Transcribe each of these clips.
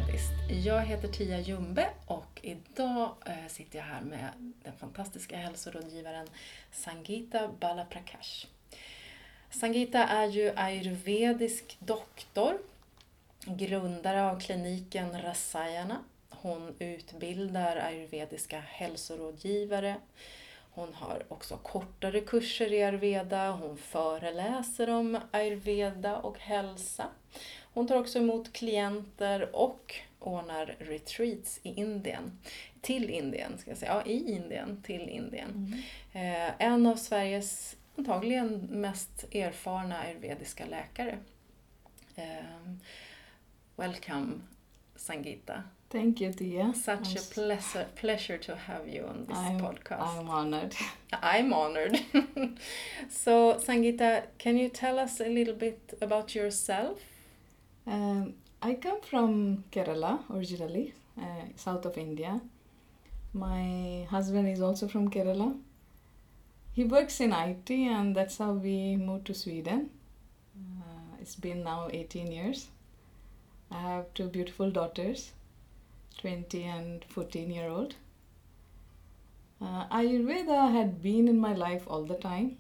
ayurvediskt. Jag heter Tia Jumbe och idag sitter jag här med den fantastiska hälsorådgivaren Sangeeta Balaprakash. Sangeeta är ju ayurvedisk doktor, grundare av kliniken Rasayana. Hon utbildar ayurvediska hälsorådgivare. Hon har också kortare kurser i ayurveda. Hon föreläser om ayurveda och hälsa. Hon tar också emot klienter och ordnar retreats i Indien. Till Indien, ska jag säga. Ja, i Indien, till Indien. En av Sveriges antagligen mest erfarna ayurvediska läkare. Welcome, Sangeeta. Thank you, Tia. Such a pleasure to have you on this podcast. I'm honored. I'm honored. So, Sangeeta, can you tell us a little bit about yourself? I come from Kerala originally, south of India. My husband is also from Kerala. He works in IT and that's how we moved to Sweden. It's been now 18 years. I have two beautiful daughters, 20 and 14-year-old. Ayurveda had been in my life all the time.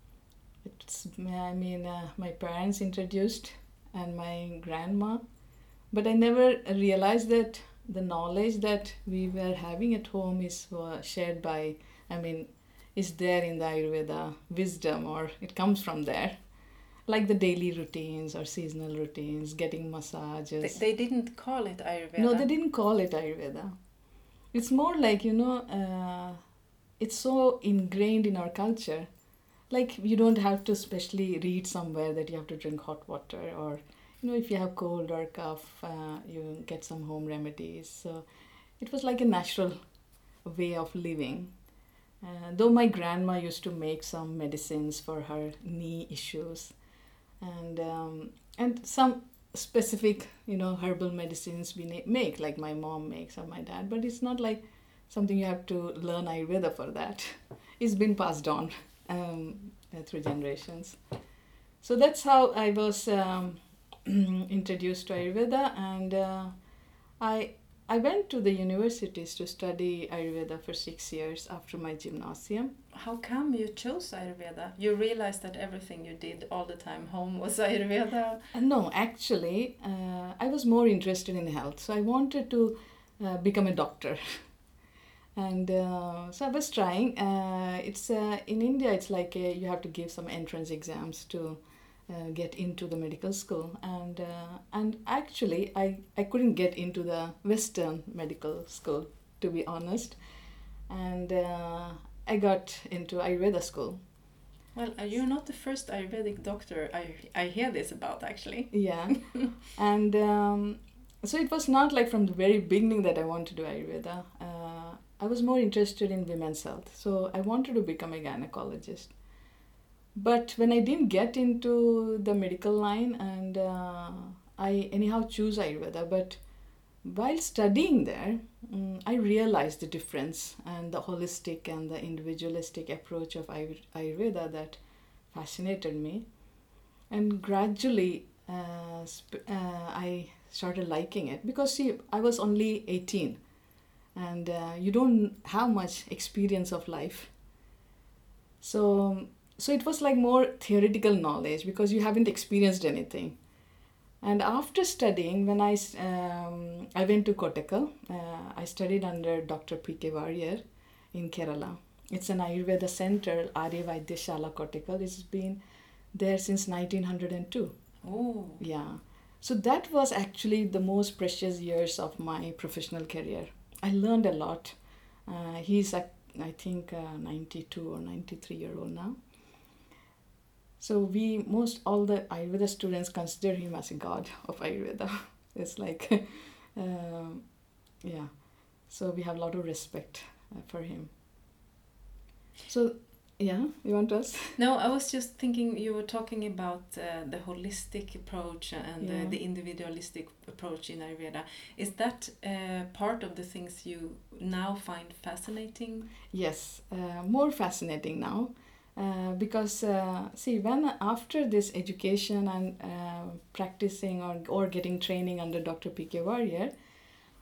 My parents introduced and my grandma, but I never realized that the knowledge that we were having at home is shared by, is there in the Ayurveda wisdom, or it comes from there. Like the daily routines or seasonal routines, getting massages. They didn't call it Ayurveda? No, they didn't call it Ayurveda. It's more like, it's so ingrained in our culture. Like you don't have to specially read somewhere that you have to drink hot water, or, if you have cold or cough, you get some home remedies. So it was like a natural way of living. Though my grandma used to make some medicines for her knee issues. And some specific, herbal medicines we make, like my mom makes or my dad, but it's not like something you have to learn Ayurveda for that. It's been passed on through generations. So that's how I was introduced to Ayurveda, and I went to the universities to study Ayurveda for 6 years after my gymnasium. How come you chose Ayurveda? You realized that everything you did all the time home was Ayurveda? No, actually, I was more interested in health. So I wanted to become a doctor. And so I was trying. It's in India, it's like you have to give some entrance exams to get into the medical school, and actually I couldn't get into the Western medical school, to be honest, and I got into Ayurveda school. Well, you're not the first Ayurvedic doctor I hear this about, actually. Yeah, and so it was not like from the very beginning that I wanted to do Ayurveda. I was more interested in women's health, so I wanted to become a gynecologist. But when I didn't get into the medical line, and I anyhow choose Ayurveda, but while studying there, I realized the difference and the holistic and the individualistic approach of Ayurveda that fascinated me. And gradually, I started liking it because, see, I was only 18 and you don't have much experience of life. So it was like more theoretical knowledge because you haven't experienced anything. And after studying, when I went to Kottakkal, I studied under Dr. P.K. Warrior in Kerala. It's an Ayurveda center, Arya Vaidyashala Kottakkal. It's been there since 1902. Oh. Yeah. So that was actually the most precious years of my professional career. I learned a lot. He's, I think, 92 or 93-year-old now. So all the Ayurveda students consider him as a god of Ayurveda. It's like, yeah. So we have a lot of respect for him. So, yeah, you want to ask? No, I was just thinking you were talking about the holistic approach and the individualistic approach in Ayurveda. Is that part of the things you now find fascinating? Yes, more fascinating now. Because when after this education and practicing or getting training under Dr. P.K. Warrior,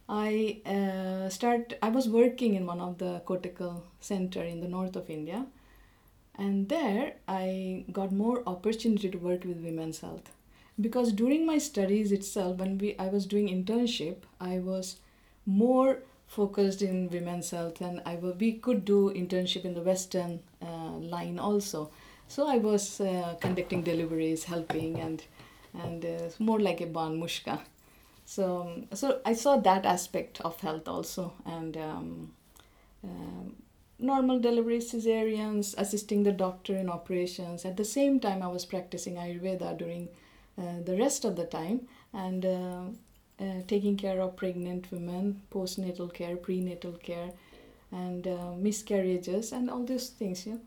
I was working in one of the cortical center in the north of India, and there I got more opportunity to work with women's health, because during my studies itself, when I was doing internship, I was more focused in women's health, and we could do internship in the Western line also. So I was conducting deliveries, helping, and more like a ban mushka. So I saw that aspect of health also, and normal delivery, cesareans, assisting the doctor in operations. At the same time, I was practicing Ayurveda during the rest of the time, and taking care of pregnant women, postnatal care, prenatal care, and miscarriages, and all these things. Yeah.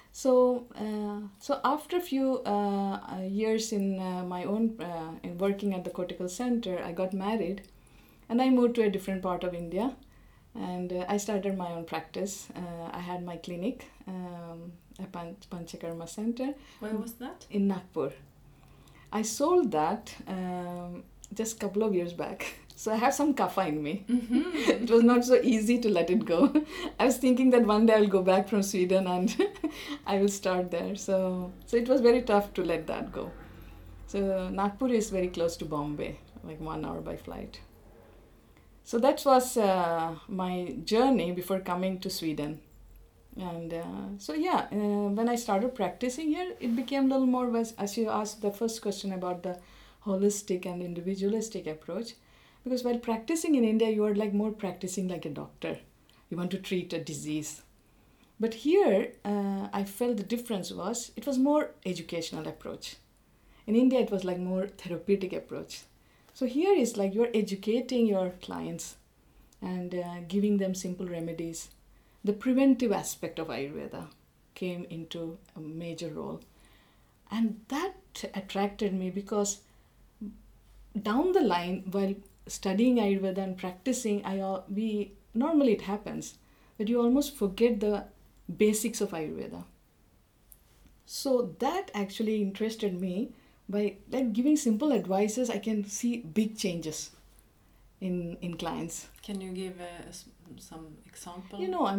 So after a few years in my own in working at the cortical center, I got married, and I moved to a different part of India, and I started my own practice. I had my clinic, a Panchakarma center. Where was that? In Nagpur. I sold that just a couple of years back. So I have some kapha in me. Mm-hmm. It was not so easy to let it go. I was thinking that one day I'll go back from Sweden and I will start there. So it was very tough to let that go. So Nagpur is very close to Bombay, like 1 hour by flight. So that was my journey before coming to Sweden. And when I started practicing here, it became a little more, as you asked the first question about the holistic and individualistic approach. Because while practicing in India, you are like more practicing like a doctor. You want to treat a disease. But here, I felt the difference was, it was more educational approach. In India, it was like more therapeutic approach. So here is like you're educating your clients and giving them simple remedies. The preventive aspect of Ayurveda came into a major role. And that attracted me because down the line, while studying Ayurveda and practicing, normally it happens that you almost forget the basics of Ayurveda. So that actually interested me. By like giving simple advices, I can see big changes in clients. Can you give some example?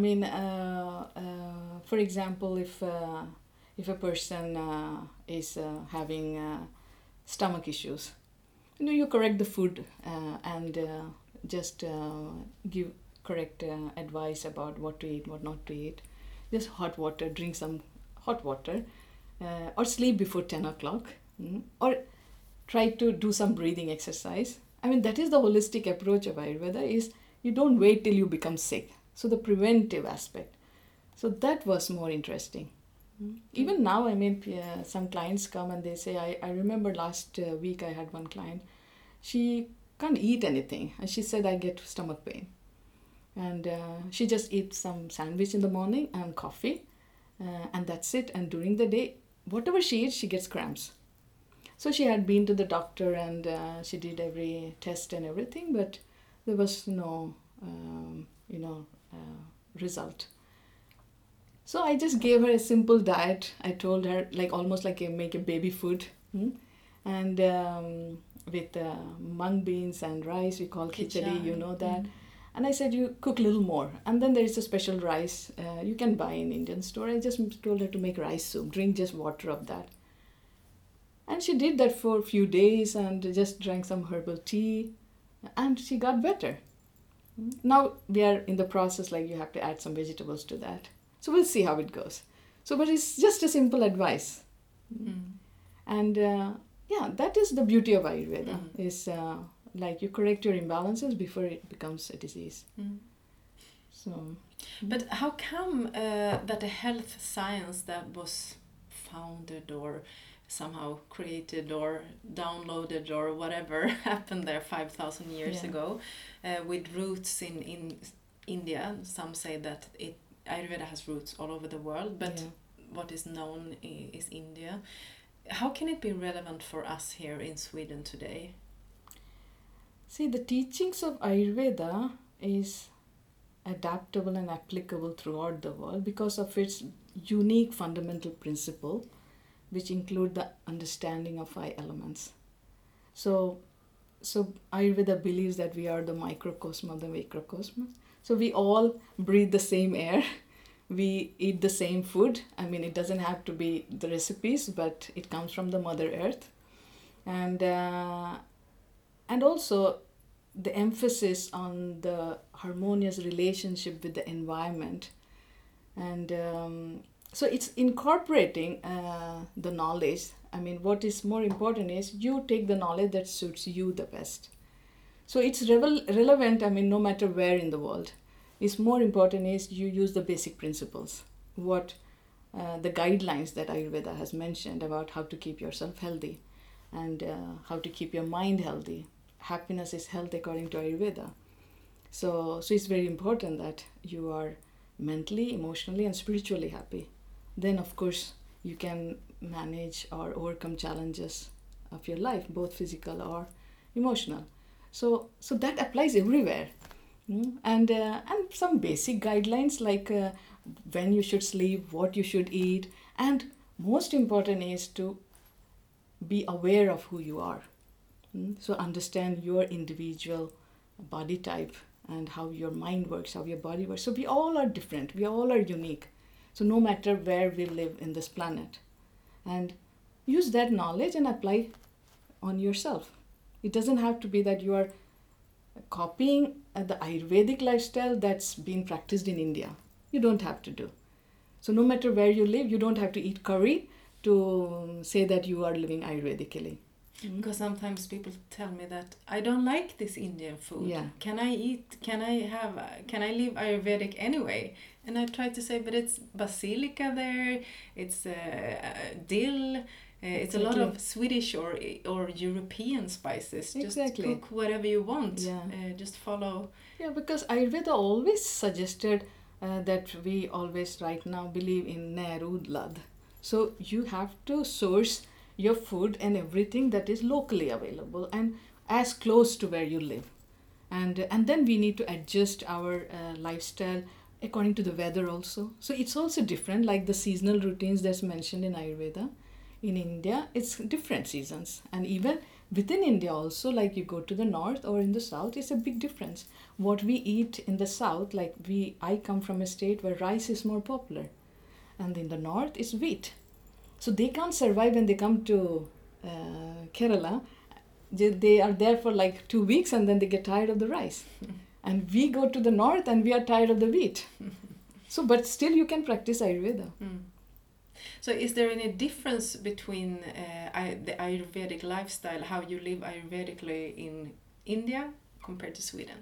For example, if a person is having stomach issues, you correct the food and just give correct advice about what to eat, what not to eat. Just hot water, drink some hot water, or sleep before 10 o'clock, or try to do some breathing exercise. That is the holistic approach of Ayurveda, is you don't wait till you become sick. So the preventive aspect. So that was more interesting. Even now, some clients come and they say, I remember last week I had one client. She can't eat anything. And she said, I get stomach pain. And she just eats some sandwich in the morning and coffee. And that's it. And during the day, whatever she eats, she gets cramps. So she had been to the doctor and she did every test and everything, but there was no, result. So I just gave her a simple diet. I told her, like almost like make a baby food, and with mung beans and rice, we call khichdi, you know that. Mm-hmm. And I said, you cook a little more. And then there is a special rice you can buy in Indian store. I just told her to make rice soup, drink just water of that. And she did that for a few days and just drank some herbal tea, and she got better. Now we are in the process, like you have to add some vegetables to that. So we'll see how it goes. So, but it's just a simple advice. And that is the beauty of Ayurveda, is like you correct your imbalances before it becomes a disease. So. But how come that a health science that was founded or somehow created or downloaded or whatever happened there 5,000 years ago, with roots in India. Some say that Ayurveda has roots all over the world, but what is known is India. How can it be relevant for us here in Sweden today? See, the teachings of Ayurveda is adaptable and applicable throughout the world because of its unique fundamental principle, which include the understanding of 5 elements. So so Ayurveda believes that we are the microcosm of the macrocosm. So we all breathe the same air. We eat the same food. I mean, it doesn't have to be the recipes, but it comes from the Mother Earth. And also the emphasis on the harmonious relationship with the environment. And so it's incorporating the knowledge. I mean, what is more important is you take the knowledge that suits you the best. So it's relevant, I mean, no matter where in the world. It's more important is you use the basic principles, what the guidelines that Ayurveda has mentioned about how to keep yourself healthy and how to keep your mind healthy. Happiness is health according to Ayurveda. So it's very important that you are mentally, emotionally, and spiritually happy. Then, of course, you can manage or overcome challenges of your life, both physical or emotional. So that applies everywhere. And some basic guidelines like when you should sleep, what you should eat, and most important is to be aware of who you are. So understand your individual body type and how your mind works, how your body works. So we all are different, we all are unique. So no matter where we live in this planet, and use that knowledge and apply on yourself. It doesn't have to be that you are copying the Ayurvedic lifestyle that's been practiced in India. You don't have to do. So no matter where you live, you don't have to eat curry to say that you are living Ayurvedically. Because sometimes people tell me that I don't like this Indian food. Yeah. Can I live Ayurvedic anyway? And I try to say, but it's basilica there, it's dill, it's a lot of Swedish or European spices. Just cook whatever you want. Yeah. Just follow. Yeah, because Ayurveda always suggested that we always right now believe in Nerudlad. So you have to source your food and everything that is locally available and as close to where you live. And then we need to adjust our lifestyle according to the weather also. So it's also different, like the seasonal routines that's mentioned in Ayurveda. In India, it's different seasons. And even within India also, like you go to the north or in the south, it's a big difference. What we eat in the south, like I come from a state where rice is more popular. And in the north, it's wheat. So they can't survive when they come to Kerala. They are there for like 2 weeks and then they get tired of the rice. And we go to the north and we are tired of the wheat. So, but still you can practice Ayurveda. So is there any difference between the Ayurvedic lifestyle, how you live Ayurvedically in India compared to Sweden?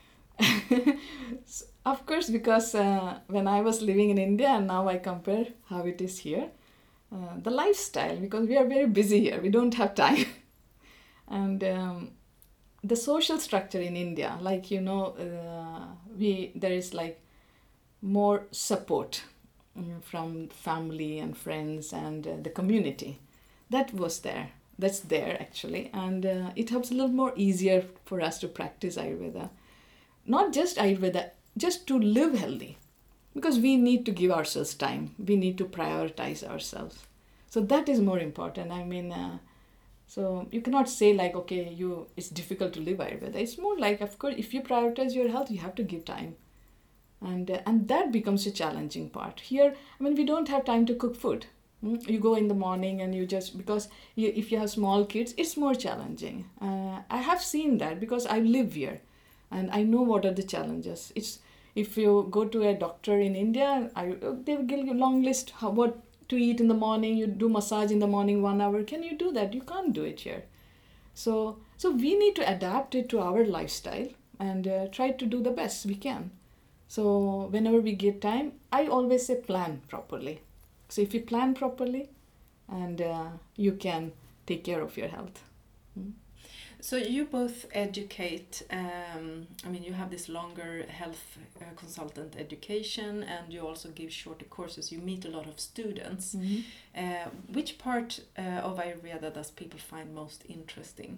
Of course, because when I was living in India and now I compare how it is here, the lifestyle, because we are very busy here, we don't have time. And the social structure in India, like, there is like more support from family and friends and the community. That's there actually. And it helps a little more easier for us to practice Ayurveda. Not just Ayurveda, just to live healthy. Because we need to give ourselves time. We need to prioritize ourselves. So that is more important. I mean, so you cannot say like, okay, it's difficult to live Ayurveda. It's more like, of course, if you prioritize your health, you have to give time. And that becomes a challenging part. Here, I mean, we don't have time to cook food. You go in the morning and if you have small kids, it's more challenging. I have seen that because I live here and I know what are the challenges. If you go to a doctor in India, they will give you a long list what to eat in the morning. You do massage in the morning 1 hour. Can you do that? You can't do it here. So we need to adapt it to our lifestyle and try to do the best we can. So whenever we get time, I always say plan properly. So if you plan properly, and you can take care of your health. So you both educate, you have this longer health consultant education and you also give shorter courses. You meet a lot of students. Which part of Ayurveda does people find most interesting?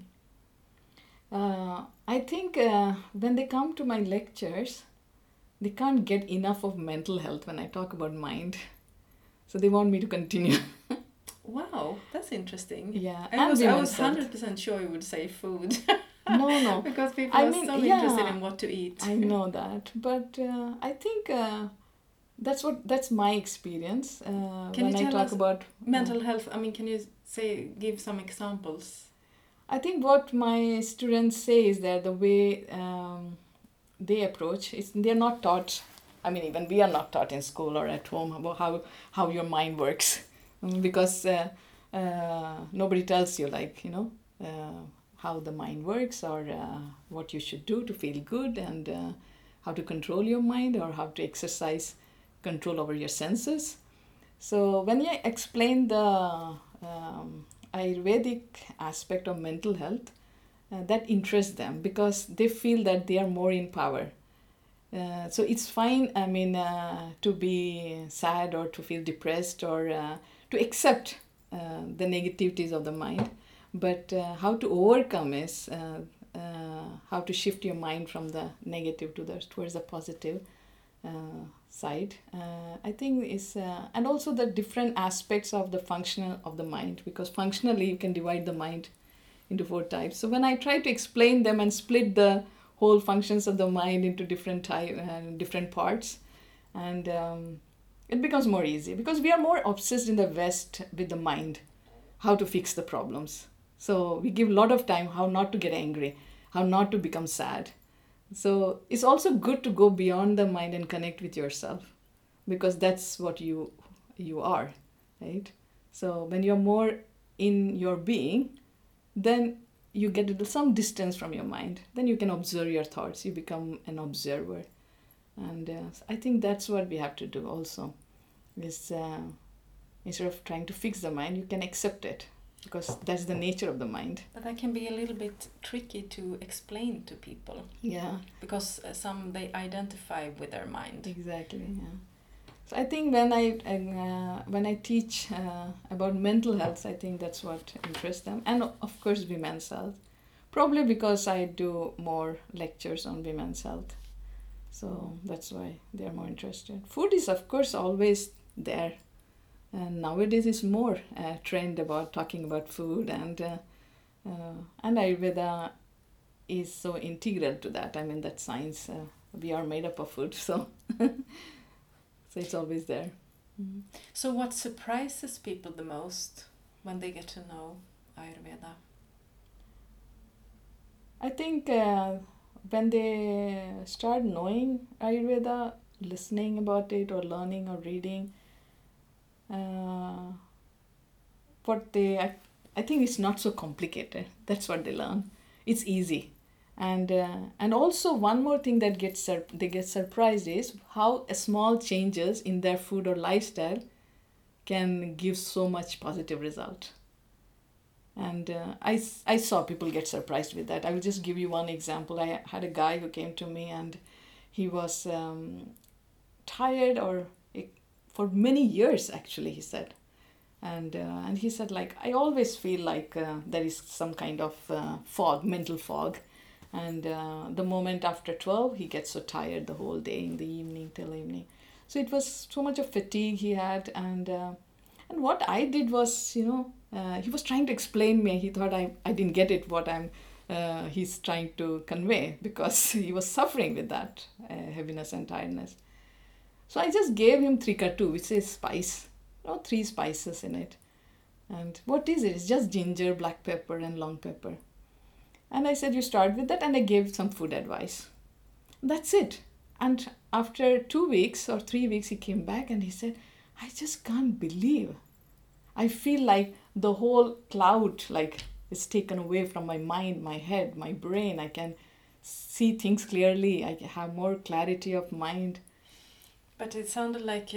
I think when they come to my lectures, they can't get enough of mental health when I talk about mind. So they want me to continue. Wow, that's interesting. Yeah, I was 100% sure you would say food. No. Because people I are mean, so yeah, interested in what to eat. I know that, but I think that's my experience Can when you I tell talk us about mental health? I mean, can you give some examples? I think what my students say is that the way they approach is they're not taught. I mean, even we are not taught in school or at home about how your mind works, because nobody tells you how the mind works or what you should do to feel good and how to control your mind or how to exercise control over your senses. So when you explain the Ayurvedic aspect of mental health, that interests them because they feel that they are more in power. So it's fine, I mean, to be sad or to feel depressed or to accept the negativities of the mind. But how to overcome is how to shift your mind from the negative towards the positive side. I think is and also the different aspects of the functional of the mind, because functionally you can divide the mind into 4 types. So when I try to explain them and split the whole functions of the mind into different parts, and it becomes more easy because we are more obsessed in the West with the mind, how to fix the problems. So we give a lot of time how not to get angry, how not to become sad. So it's also good to go beyond the mind and connect with yourself, because that's what you are, right? So when you're more in your being, then you get some distance from your mind. Then you can observe your thoughts. You become an observer. And I think that's what we have to do also. Is instead of trying to fix the mind, you can accept it, because that's the nature of the mind. But that can be a little bit tricky to explain to people. Yeah. Because some they identify with their mind. Exactly. Yeah. So I think when I teach about mental health, I think that's what interests them, and of course women's health. Probably because I do more lectures on women's health, so that's why they are more interested. Food is of course always there, and nowadays is more trend about talking about food, and Ayurveda is so integral to that. I mean, that science, we are made up of food, so so it's always there. Mm-hmm. So what surprises people the most when they get to know Ayurveda? I think when they start knowing Ayurveda, listening about it or learning or reading, I think it's not so complicated. That's what they learn. It's easy. And also one more thing that they get surprised is how small changes in their food or lifestyle can give so much positive result. And I saw people get surprised with that. I will just give you one example. I had a guy who came to me and he was tired for many years actually, he said. And he said, like, I always feel like there is some kind of fog, mental fog. And the moment after 12, he gets so tired the whole day, in the evening till evening. So it was so much of fatigue he had. And what I did was, he was trying to explain me. He thought I didn't get it, what he's trying to convey, because he was suffering with that heaviness and tiredness. So I just gave him Trikatu, which is spice, 3 spices in it. And what is it? It's just ginger, black pepper, and long pepper. And I said, you start with that, and I gave some food advice. That's it. And after 2 weeks or 3 weeks, he came back and he said, I just can't believe. I feel like the whole cloud is taken away from my mind, my head, my brain. I can see things clearly. I have more clarity of mind. But it sounded like,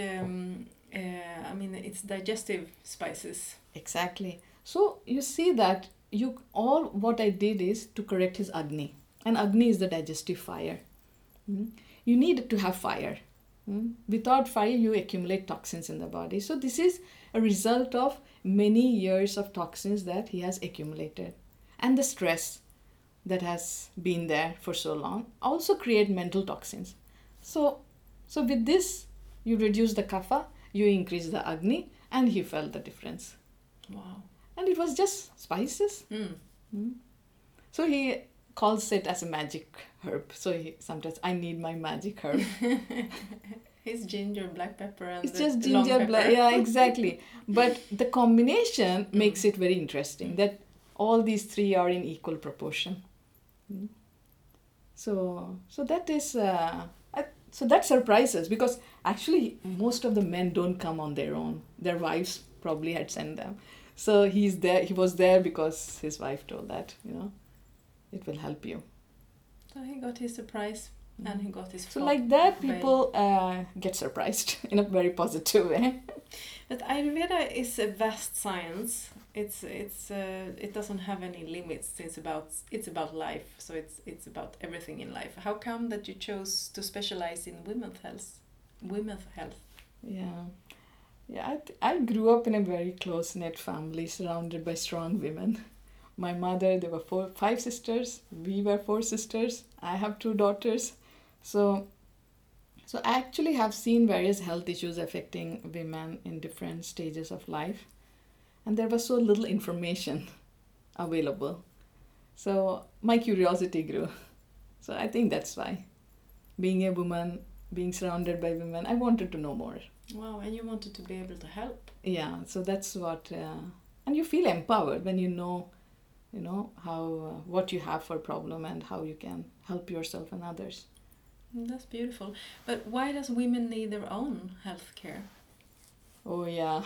it's digestive spices. Exactly. So you see that what I did is to correct his Agni. And Agni is the digestive fire. You need to have fire. Without fire, you accumulate toxins in the body. So this is a result of many years of toxins that he has accumulated. And the stress that has been there for so long also create mental toxins. So with this, you reduce the kapha, you increase the Agni, and he felt the difference. Wow. And it was just spices. So he calls it as a magic herb. So sometimes I need my magic herb. It's ginger, black pepper, and It's the just long ginger, pepper. yeah, exactly. But the combination makes it very interesting that all these three are in equal proportion. So that is so that surprises, because actually most of the men don't come on their own. Their wives probably had sent them. So he's there. He was there because his wife told that it will help you. So he got his surprise and he got his. So like that, people get surprised in a very positive way. But Ayurveda is a vast science. It doesn't have any limits. It's about life. So it's about everything in life. How come that you chose to specialize in women's health? Yeah, I grew up in a very close-knit family surrounded by strong women. My mother, there were 5 sisters. We were 4 sisters. I have 2 daughters. So I actually have seen various health issues affecting women in different stages of life. And there was so little information available. So my curiosity grew. So I think that's why. Being a woman, being surrounded by women, I wanted to know more. Wow, and you wanted to be able to help. Yeah, so that's what... and you feel empowered when you know how what you have for problem and how you can help yourself and others. That's beautiful. But why does women need their own health care? Oh yeah.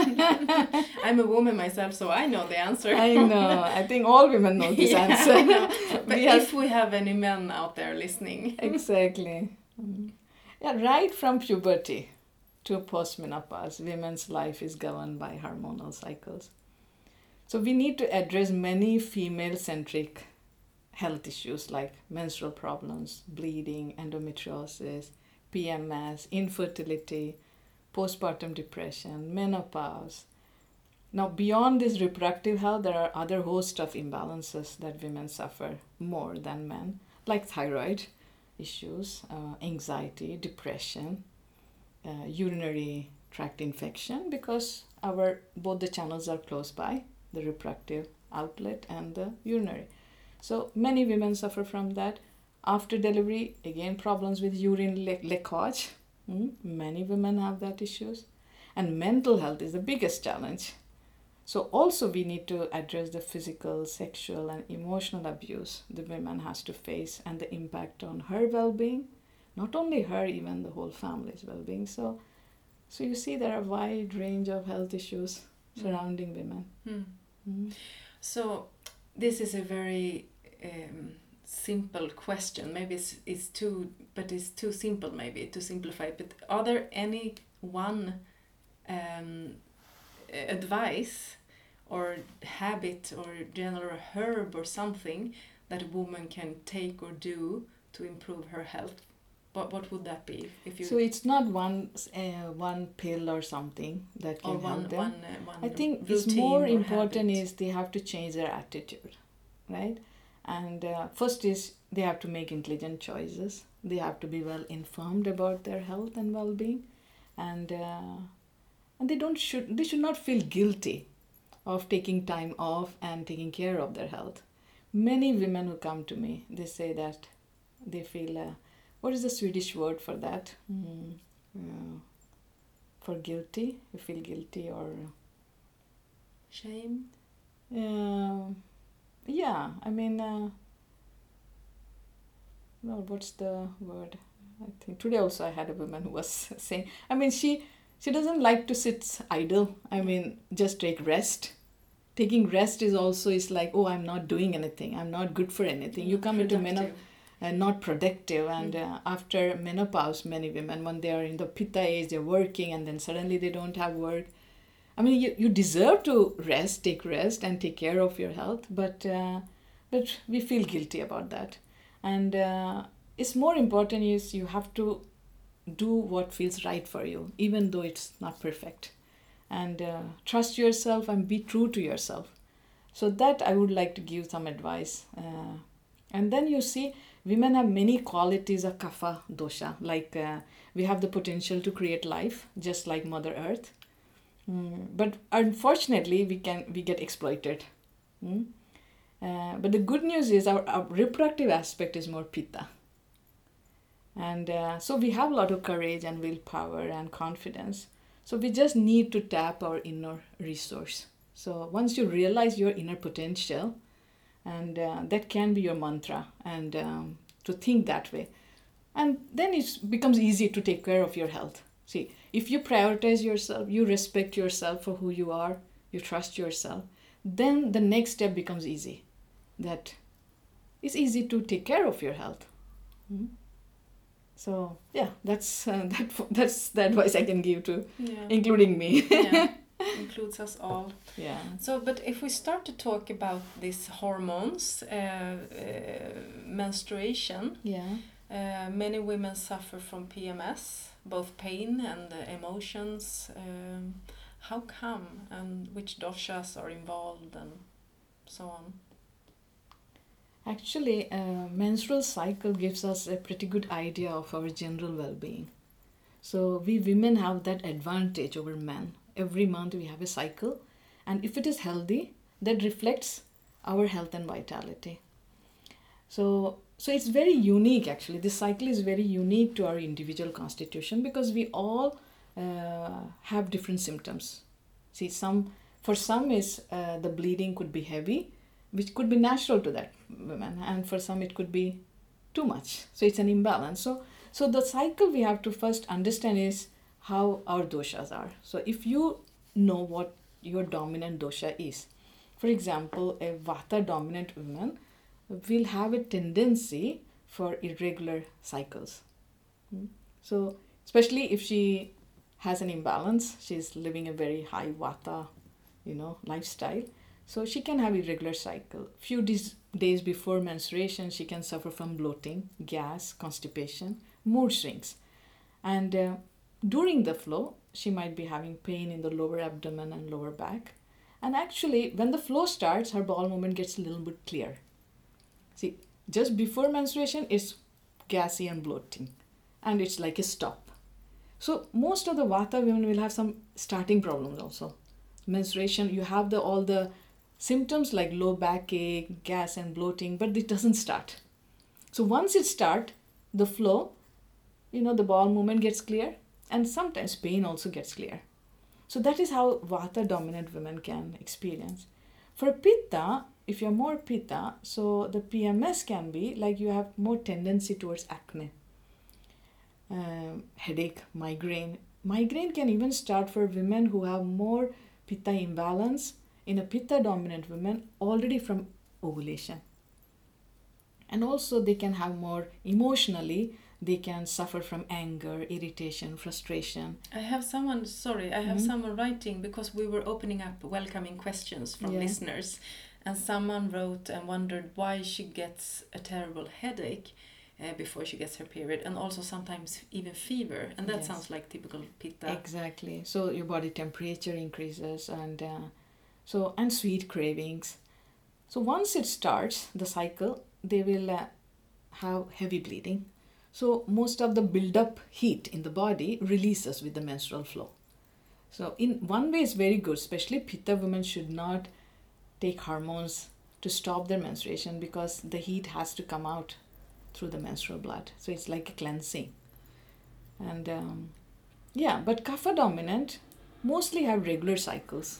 I'm a woman myself, so I know the answer. I know. I think all women know this answer. I know. But if we have any men out there listening. Exactly. Yeah, right from puberty to postmenopause, women's life is governed by hormonal cycles. So we need to address many female-centric health issues like menstrual problems, bleeding, endometriosis, PMS, infertility, postpartum depression, menopause. Now, beyond this reproductive health, there are other host of imbalances that women suffer more than men, like thyroid issues, anxiety, depression, urinary tract infection, because both the channels are close by, the reproductive outlet and the urinary. So many women suffer from that. After delivery, again, problems with urine leakage. Many women have that issues. And mental health is the biggest challenge. So also we need to address the physical, sexual and emotional abuse the woman has to face and the impact on her well-being. Not only her, even the whole family's well-being. So you see there are a wide range of health issues surrounding women. So this is a very simple question. Maybe it's too simple maybe to simplify it. But are there any one advice or habit or general herb or something that a woman can take or do to improve her health? What would that be? So it's not one pill or something that can help them. I think it's more important is they have to change their attitude, right? And first is they have to make intelligent choices. They have to be well informed about their health and well-being, and they should not feel guilty of taking time off and taking care of their health. Many women who come to me, they say that they feel what is the Swedish word for that? For guilty, you feel guilty or shame. Yeah, I mean, well, what's the word? I think today also I had a woman who was saying, I mean, she doesn't like to sit idle. I mean, just take rest. Taking rest is like, oh, I'm not doing anything. I'm not good for anything. You come into menopause and not productive. And after menopause, many women, when they are in the pitta age, they're working and then suddenly they don't have work. I mean, you deserve to take rest and take care of your health, but we feel guilty about that. And it's more important is you have to do what feels right for you, even though it's not perfect. And trust yourself and be true to yourself. So that I would like to give some advice. And then you see, women have many qualities of kapha dosha. Like we have the potential to create life, just like Mother Earth. But unfortunately, we get exploited. But the good news is our reproductive aspect is more pitta. And so we have a lot of courage and willpower and confidence. So we just need to tap our inner resource. So once you realize your inner potential, and that can be your mantra, and to think that way. And then it becomes easy to take care of your health. See, if you prioritize yourself, you respect yourself for who you are, you trust yourself, then the next step becomes easy. That it's easy to take care of your health. Mm-hmm. So yeah, that's the advice I can give to, including me. Yeah, includes us all. Yeah. So, but if we start to talk about these hormones, menstruation. Yeah. Many women suffer from PMS, both pain and emotions. How come, and which doshas are involved, and so on? Actually, menstrual cycle gives us a pretty good idea of our general well-being. So we women have that advantage over men. Every month we have a cycle, and if it is healthy, that reflects our health and vitality. So it's very unique actually. This cycle is very unique to our individual constitution because we all have different symptoms. See, for some is the bleeding could be heavy, which could be natural to that woman, and for some it could be too much. So it's an imbalance. So the cycle we have to first understand is how our doshas are. So if you know what your dominant dosha is, for example, a vata dominant woman will have a tendency for irregular cycles. So especially if she has an imbalance, she's living a very high vata, lifestyle. So she can have irregular cycle. Few days before menstruation, she can suffer from bloating, gas, constipation, mood swings. And during the flow, she might be having pain in the lower abdomen and lower back. And actually, when the flow starts, her bowel movement gets a little bit clear. See, just before menstruation, it's gassy and bloating. And it's like a stop. So most of the vata women will have some starting problems also. Menstruation, you have all the symptoms like low backache, gas and bloating, but it doesn't start. So once it starts, the flow, the bowel movement gets clear, and sometimes pain also gets clear. So that is how vata dominant women can experience. For pitta, if you're more pitta, so the PMS can be like you have more tendency towards acne, headache, migraine. Migraine can even start for women who have more pitta imbalance in a pitta dominant woman already from ovulation. And also they can have more emotionally, they can suffer from anger, irritation, frustration. I have someone writing, because we were opening up welcoming questions from listeners, and someone wrote and wondered why she gets a terrible headache before she gets her period, and also sometimes even fever, and that sounds like typical pitta. Exactly. So your body temperature increases, and sweet cravings. So once it starts the cycle, they will have heavy bleeding. So most of the build-up heat in the body releases with the menstrual flow. So in one way it's very good, especially pitta women should not take hormones to stop their menstruation because the heat has to come out through the menstrual blood. So it's like a cleansing. And but kapha dominant mostly have regular cycles.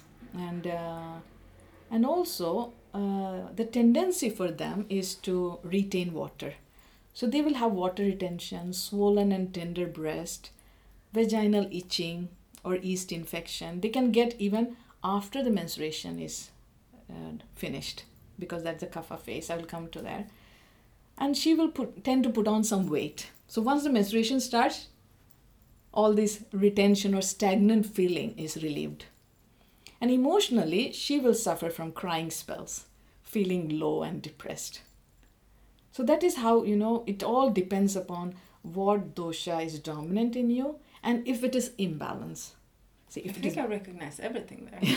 And also the tendency for them is to retain water. So they will have water retention, swollen and tender breast, vaginal itching or yeast infection. They can get even after the menstruation is finished, because that's the kapha phase. I will come to that. And she will tend to put on some weight. So once the menstruation starts, all this retention or stagnant feeling is relieved. And emotionally, she will suffer from crying spells, feeling low and depressed. So that is how, it all depends upon what dosha is dominant in you and if it is imbalance. See, I think I recognize everything there.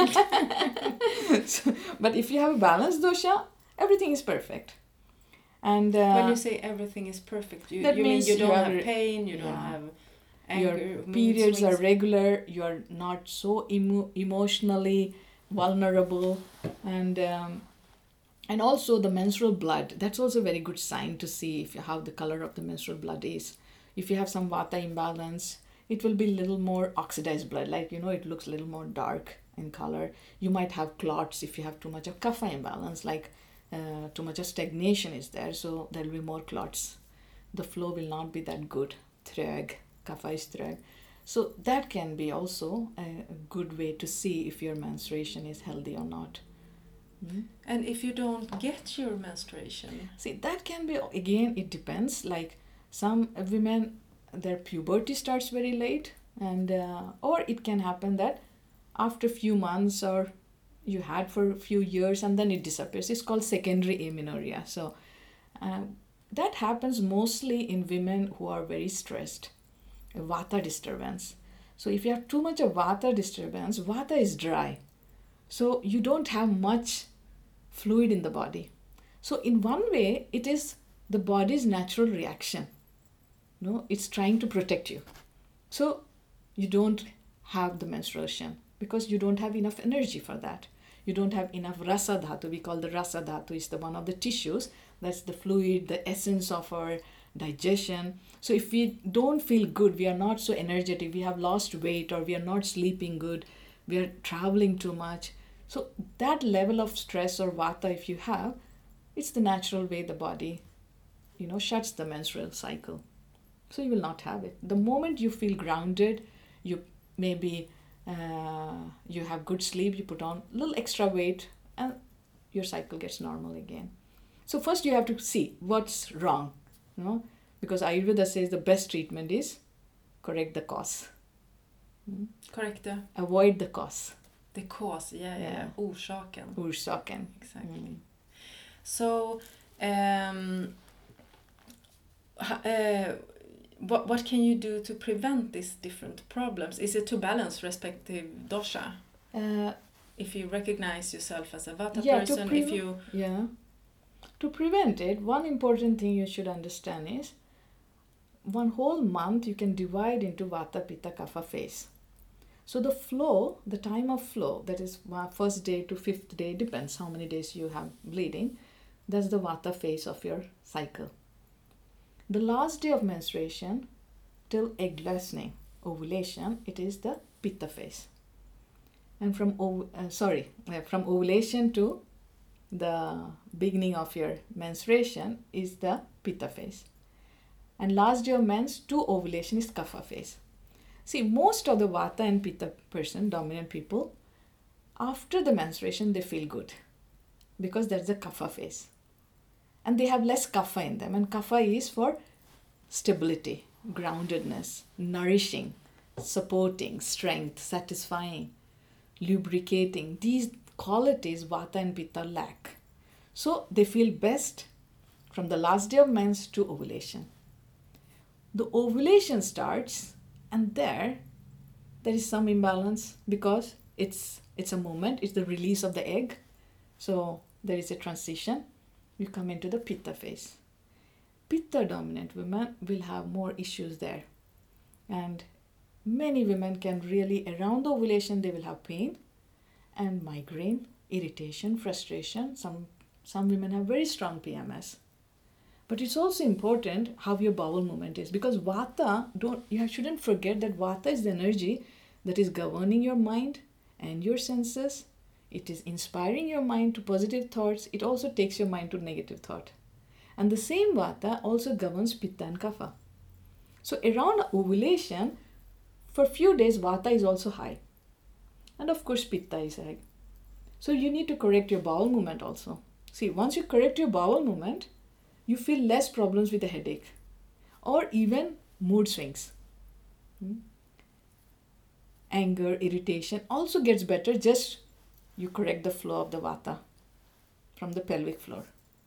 But if you have a balanced dosha, everything is perfect. And when you say everything is perfect, you mean you don't have pain, you don't have anger, your periods are regular, you are not so emotionally vulnerable, and And also the menstrual blood, that's also a very good sign to see if how the color of the menstrual blood is. If you have some vata imbalance, it will be a little more oxidized blood, like it looks a little more dark in color. You might have clots if you have too much of kapha imbalance, like too much of stagnation is there, so there will be more clots. The flow will not be that good. Trög, kapha is trög. So that can be also a good way to see if your menstruation is healthy or not. And if you don't get your menstruation? See, that can be, again, it depends. Like some women, their puberty starts very late, and or it can happen that after a few months, or you had for a few years and then it disappears. It's called secondary amenorrhea. So that happens mostly in women who are very stressed, a vata disturbance. So if you have too much of vata disturbance, vata is dry. So you don't have much fluid in the body. So in one way, it is the body's natural reaction. It's trying to protect you. So you don't have the menstruation because you don't have enough energy for that. You don't have enough rasa dhatu. We call the rasa dhatu is the one of the tissues. That's the fluid, the essence of our digestion. So if we don't feel good, we are not so energetic, we have lost weight, or we are not sleeping good, we are traveling too much. So that level of stress or vata, if you have, it's the natural way the body, shuts the menstrual cycle. So you will not have it. The moment you feel grounded, you maybe you have good sleep, you put on a little extra weight, and your cycle gets normal again. So first you have to see what's wrong, because Ayurveda says the best treatment is correct the cause. Correct the? Avoid the cause. The cause, yeah. Orsaken. Orsaken. Exactly. So, what can you do to prevent these different problems? Is it to balance respective dosha? If you recognize yourself as a vata person, To prevent it, one important thing you should understand is one whole month you can divide into vata, pitta, kapha phase. So the flow, the time of flow, that is first day to fifth day, depends how many days you have bleeding. That's the vata phase of your cycle. The last day of menstruation till egg loosening, ovulation, it is the pitta phase. And from ovulation to the beginning of your menstruation is the pitta phase. And last day of mens to ovulation is kapha phase. See, most of the vata and pitta person, dominant people, after the menstruation they feel good because that's the kapha phase. And they have less kapha in them. And kapha is for stability, groundedness, nourishing, supporting, strength, satisfying, lubricating. These qualities vata and pitta lack. So they feel best from the last day of mens to ovulation. The ovulation starts, and there is some imbalance because it's a moment, it's the release of the egg. So there is a transition. You come into the pitta phase. Pitta dominant women will have more issues there. And many women can really, around the ovulation, they will have pain and migraine, irritation, frustration. Some women have very strong PMS. But it's also important how your bowel movement is, because vata, you shouldn't forget that vata is the energy that is governing your mind and your senses. It is inspiring your mind to positive thoughts. It also takes your mind to negative thought. And the same vata also governs pitta and kapha. So around ovulation, for a few days, vata is also high. And of course, pitta is high. So you need to correct your bowel movement also. See, once you correct your bowel movement, you feel less problems with a headache or even mood swings. Anger, irritation also gets better, just you correct the flow of the vata from the pelvic floor.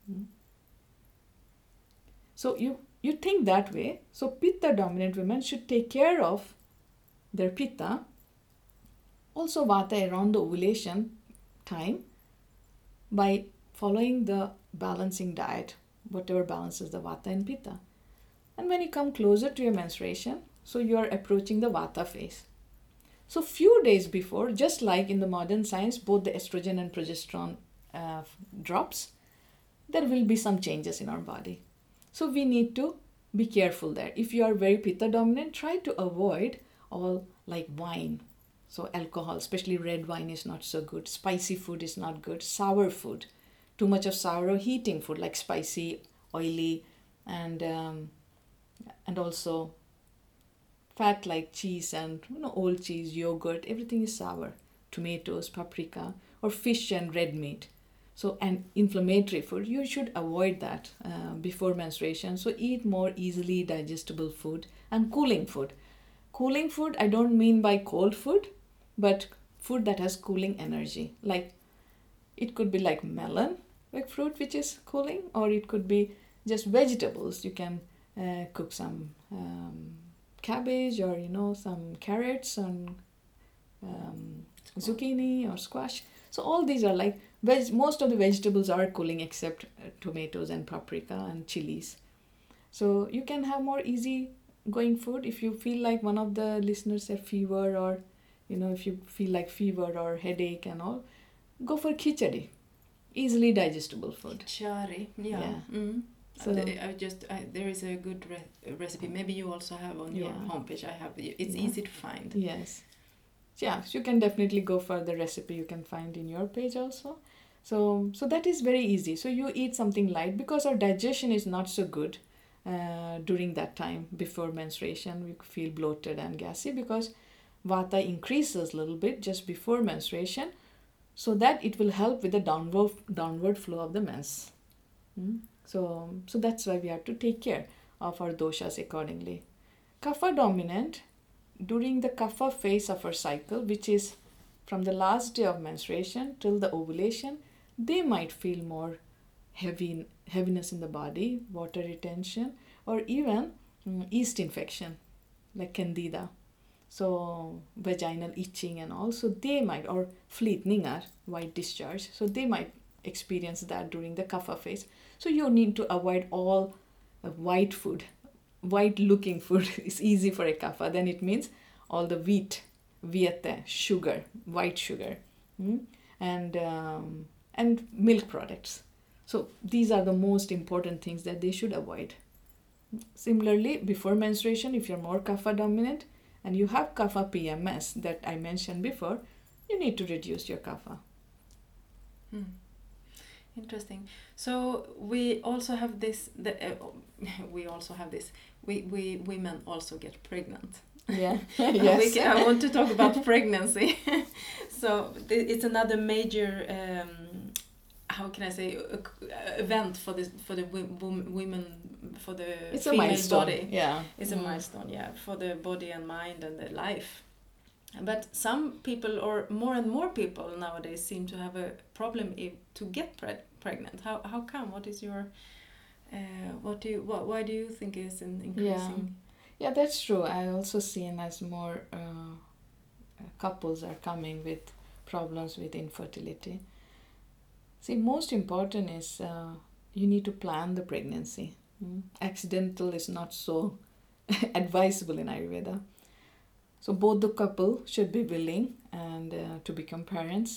So you think that way. So pitta dominant women should take care of their pitta. Also vata around the ovulation time by following the balancing diet, whatever balances the vata and pitta. And when you come closer to your menstruation, so you are approaching the vata phase. So few days before, just like in the modern science, both the estrogen and progesterone drops, there will be some changes in our body. So we need to be careful there. If you are very pitta dominant, try to avoid all like wine. So alcohol, especially red wine, is not so good. Spicy food is not good. Sour food, too much of sour or heating food like spicy, oily, and also fat like cheese and old cheese, yogurt. Everything is sour. Tomatoes, paprika, or fish and red meat. So, and inflammatory food, you should avoid that before menstruation. So eat more easily digestible food and cooling food. Cooling food, I don't mean by cold food, but food that has cooling energy. Like it could be like melon, like fruit which is cooling, or it could be just vegetables. You can cook some cabbage, or some carrots and zucchini or squash. So all these are like most of the vegetables are cooling except tomatoes and paprika and chilies. So you can have more easy going food. If you feel like one of the listeners have fever, or if you feel like fever or headache and all, go for khichdi, easily digestible food. Khichdi, yeah. Mm. So there is a good recipe. Maybe you also have on your homepage. It's easy to find. Yes. Yeah, so you can definitely go for the recipe you can find in your page also. So that is very easy. So you eat something light because our digestion is not so good during that time before menstruation. We feel bloated and gassy because vata increases a little bit just before menstruation, so that it will help with the downward flow of the mens. So that's why we have to take care of our doshas accordingly. Kapha dominant, during the kapha phase of our cycle, which is from the last day of menstruation till the ovulation, they might feel more heaviness in the body, water retention, or even yeast infection like candida. So vaginal itching and all. So they might, or fleetningar, white discharge. So they might experience that during the kapha phase. So you need to avoid all white food. White looking food is easy for a kapha. Then it means all the wheat, sugar, white sugar, and milk products. So these are the most important things that they should avoid. Similarly, before menstruation, if you're more kapha dominant and you have kapha PMS that I mentioned before, you need to reduce your kapha. Interesting. So we also have this. We women also get pregnant. Yeah. Yes. I want to talk about pregnancy. So it's another major. How can I say event for the women, for the it's female a milestone. Body. Yeah. It's a milestone. Yeah, for the body and mind and the life. But some people, or more and more people nowadays, seem to have a problem to get pregnant. How come? What is your why do you think is increasing? Yeah, that's true. I also seen as more couples are coming with problems with infertility. See, most important is you need to plan the pregnancy. Accidental is not so advisable in Ayurveda. So both the couple should be willing and to become parents,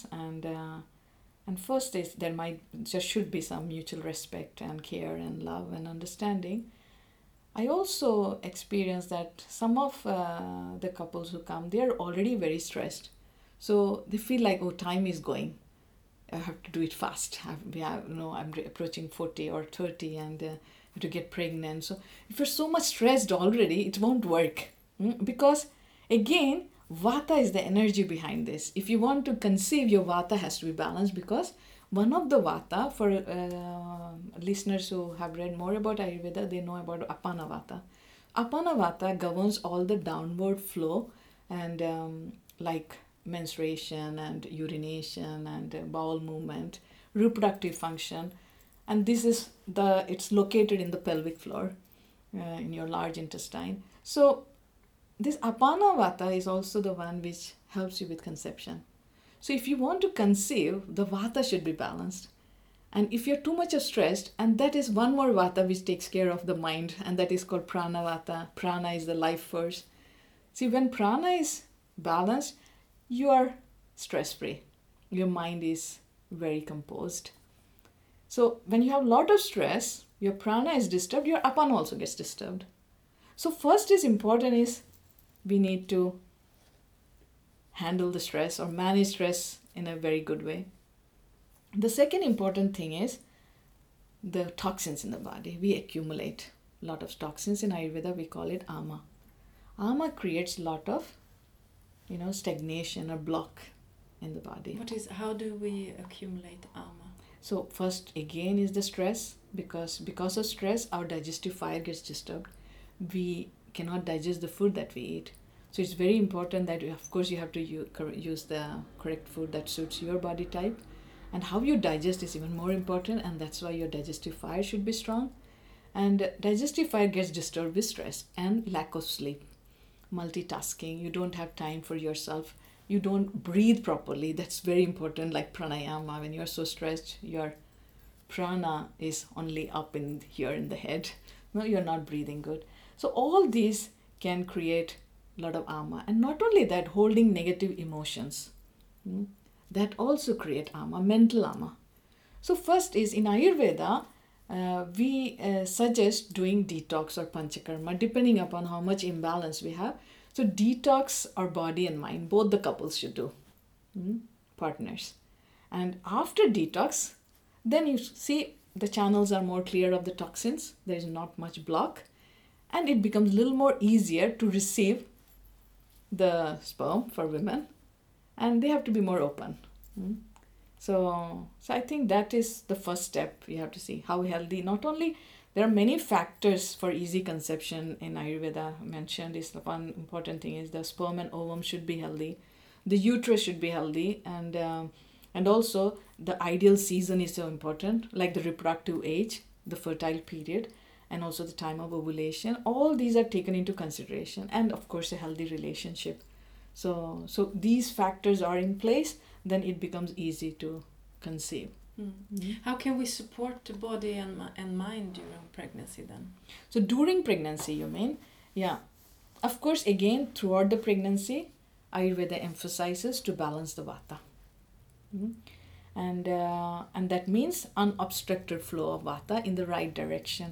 and first is there should be some mutual respect and care and love and understanding. I also experienced that some of the couples who come, they are already very stressed, so they feel like, oh, time is going, I have to do it fast. I'm approaching 40 or 30 and have to get pregnant. So if you're so much stressed already, it won't work, because again, vata is the energy behind this. If you want to conceive, your vata has to be balanced, because one of the vata, for listeners who have read more about Ayurveda, they know about Apana Vata. Apana Vata governs all the downward flow and like menstruation and urination and bowel movement, reproductive function, and it's located in the pelvic floor, in your large intestine. So this Apana Vata is also the one which helps you with conception. So if you want to conceive, the Vata should be balanced. And if you're too much stressed, and that is one more Vata which takes care of the mind, and that is called Prana Vata. Prana is the life force. See, when Prana is balanced, you are stress-free. Your mind is very composed. So when you have a lot of stress, your prana is disturbed, your apana also gets disturbed. So first is important is we need to handle the stress or manage stress in a very good way. The second important thing is the toxins in the body. We accumulate a lot of toxins in Ayurveda, we call it ama. Ama creates a lot of, stagnation or block in the body. How do we accumulate ama? So first again is the stress, because of stress our digestive fire gets disturbed. We cannot digest the food that we eat. So it's very important that of course you have to use the correct food that suits your body type, and how you digest is even more important, and that's why your digestive fire should be strong. And digestive fire gets disturbed with stress and lack of sleep, multitasking, you don't have time for yourself, you don't breathe properly. That's very important, like pranayama. When you're so stressed, your prana is only up in here in the head. No, you're not breathing good. So all these can create a lot of ama. And not only that, holding negative emotions, that also create ama, mental ama. So first is in Ayurveda, we suggest doing detox or panchakarma depending upon how much imbalance we have. So detox our body and mind, both the couples should do, partners. And after detox, then you see the channels are more clear of the toxins, there is not much block, and it becomes a little more easier to receive the sperm for women, and they have to be more open. So I think that is the first step. You have to see how healthy. Not only there are many factors for easy conception in Ayurveda mentioned. Is the one important thing is the sperm and ovum should be healthy, the uterus should be healthy, and also the ideal season is so important, like the reproductive age, the fertile period, and also the time of ovulation. All these are taken into consideration, and of course a healthy relationship. So these factors are in place, then it becomes easy to conceive. How can we support the body and mind during pregnancy then? So during pregnancy, you mean? Yeah. Of course, again, throughout the pregnancy, Ayurveda emphasizes to balance the vata. And that means unobstructed flow of vata in the right direction.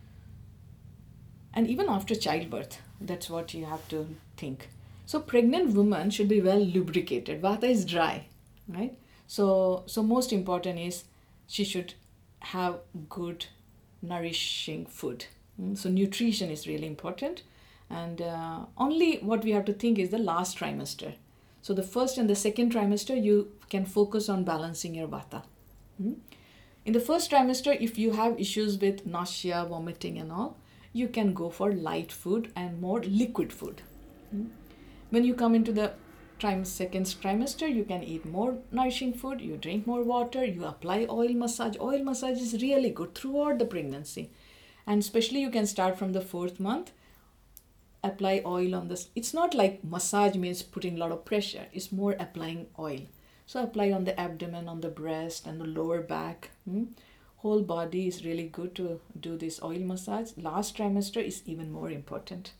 And even after childbirth, that's what you have to think. So pregnant women should be well lubricated. Vata is dry, right? So most important is she should have good nourishing food. So nutrition is really important. And only what we have to think is the last trimester. So the first and the second trimester, you can focus on balancing your vata. In the first trimester, if you have issues with nausea, vomiting and all, you can go for light food and more liquid food. When you come into the second trimester, you can eat more nourishing food, you drink more water, you apply oil massage. Oil massage is really good throughout the pregnancy. And especially you can start from the 4th month, apply oil on this. It's not like massage means putting a lot of pressure, it's more applying oil. So apply on the abdomen, on the breast and the lower back. Whole body is really good to do this oil massage. Last trimester is even more important.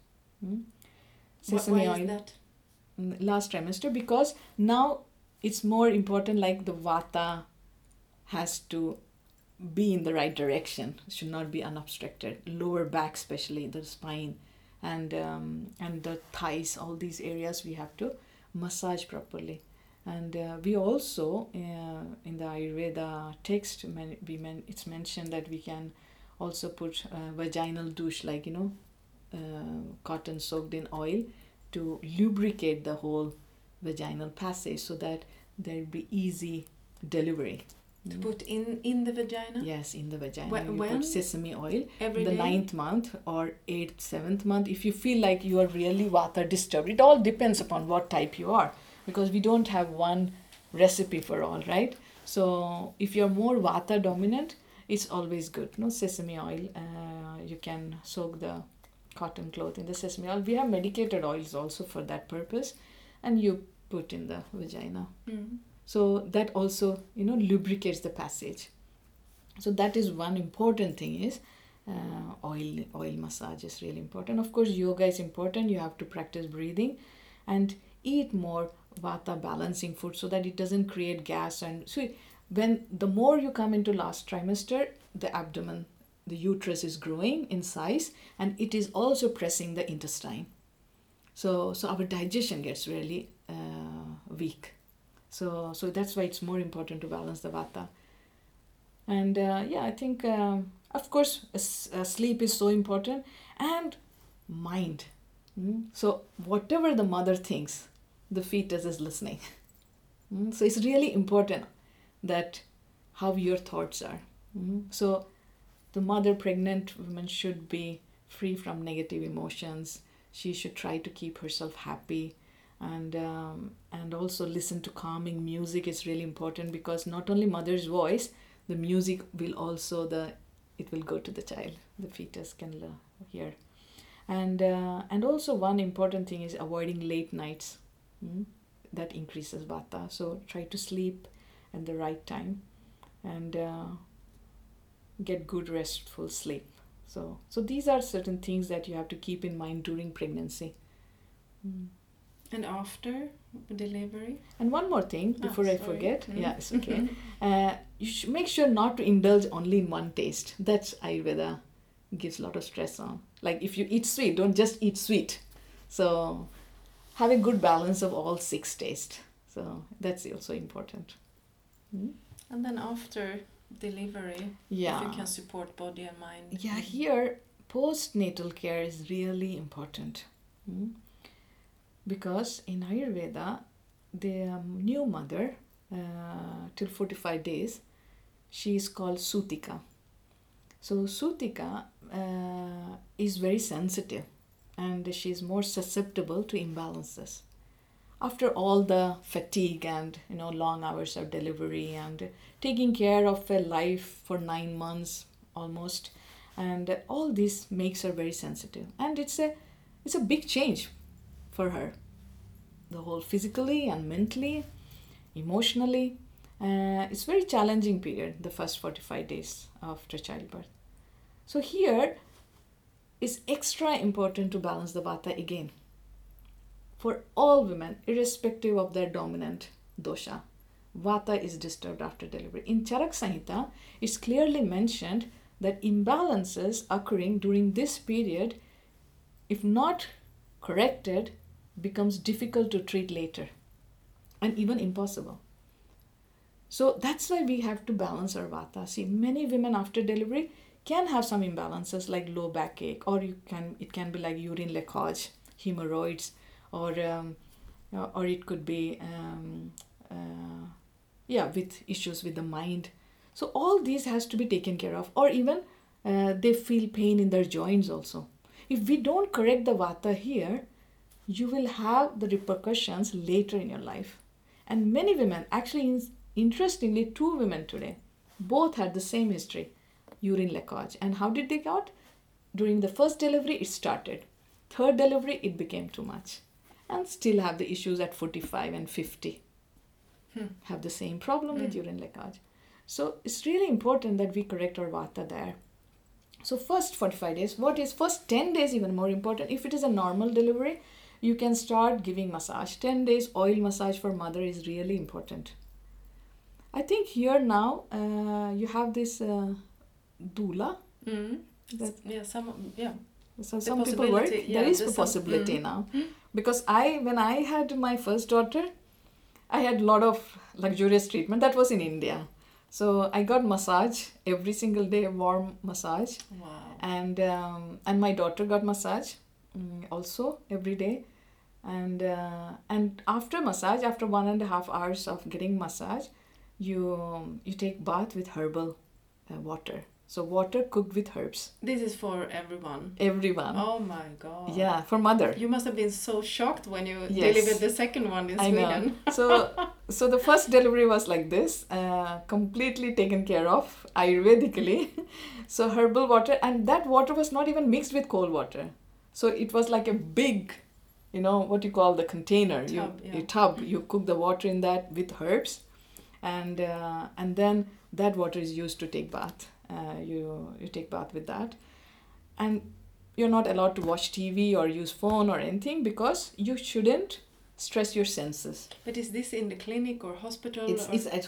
Sesame Why oil. is that? Last trimester, because now it's more important, like the vata has to be in the right direction, it should not be unobstructed. Lower back, especially the spine and the thighs, all these areas we have to massage properly. And we also in the Ayurveda text it's mentioned that we can also put vaginal douche, like cotton soaked in oil, to lubricate the whole vaginal passage so that there'll be easy delivery. To put in the vagina? Yes, in the vagina. When? You put sesame oil Every the day? 9th month or 8th, 7th month. If you feel like you are really vata disturbed, it all depends upon what type you are, because we don't have one recipe for all, right? So if you're more vata dominant, it's always good. Sesame oil, you can soak the cotton cloth in the sesame oil. We have medicated oils also for that purpose, and you put in the vagina. So that also lubricates the passage. So that is one important thing, is oil massage is really important. Of course, yoga is important. You have to practice breathing and eat more vata balancing food so that it doesn't create gas. And so when the more you come into last trimester, the abdomen, the uterus is growing in size, and it is also pressing the intestine. So our digestion gets really weak. So that's why it's more important to balance the vata. And I think, of course, sleep is so important, and mind. So whatever the mother thinks, the fetus is listening. So it's really important that how your thoughts are. So the mother, pregnant woman should be free from negative emotions. She should try to keep herself happy, and also listen to calming music is really important, because not only mother's voice, the music will also it will go to the child. The fetus can hear. And also one important thing is avoiding late nights. That increases vata. So try to sleep at the right time, and get good restful sleep. So these are certain things that you have to keep in mind during pregnancy. And after delivery? And one more thing before I forget. Yeah, it's okay. You should make sure not to indulge only in one taste. That's Ayurveda gives a lot of stress on. Like if you eat sweet, don't just eat sweet. So have a good balance of all 6 tastes. So that's also important. And then after delivery, if you can support body and mind. Yeah, here postnatal care is really important. Because in Ayurveda, the new mother, till 45 days, she is called Sutika. So Sutika is very sensitive, and she is more susceptible to imbalances. After all the fatigue and long hours of delivery and taking care of a life for 9 months almost, and all this makes her very sensitive, and it's a big change for her, the whole physically and mentally, emotionally. It's very challenging period, the first 45 days after childbirth. So here it's extra important to balance the vata again. For all women, irrespective of their dominant dosha, vata is disturbed after delivery. In Charak Samhita, it's clearly mentioned that imbalances occurring during this period, if not corrected, becomes difficult to treat later, and even impossible. So that's why we have to balance our vata. See, many women after delivery can have some imbalances like low backache, or it can be like urine leakage, hemorrhoids, or it could be with issues with the mind. So all these has to be taken care of, or even they feel pain in their joints also. If we don't correct the vata here, you will have the repercussions later in your life. And many women, actually interestingly 2 women today, both had the same history, urine leakage. And how did they got? During the first delivery it started, 3rd delivery it became too much, and still have the issues at 45 and 50. Have the same problem with urine leakage. So it's really important that we correct our vata there. So first 45 days, first 10 days even more important. If it is a normal delivery, you can start giving massage. 10 days oil massage for mother is really important. I think here now you have this doula. So some people work. There is a possibility now. Because when I had my first daughter, I had a lot of luxurious treatment. That was in India. So I got massage every single day, warm massage. Wow. And my daughter got massage also every day. And after massage, after 1.5 hours of getting massage, you take bath with herbal water. So water cooked with herbs. This is for everyone. Everyone. Oh my God. Yeah, for mother. You must have been so shocked when you delivered the second one in Sweden. I know. So the first delivery was like this, completely taken care of Ayurvedically. So herbal water, and that water was not even mixed with cold water. So it was like a big, what you call the container, a tub. You cook the water in that with herbs, and then that water is used to take bath. You take bath with that, and you're not allowed to watch TV or use phone or anything, because you shouldn't stress your senses. But is this in the clinic or hospital? It's at home.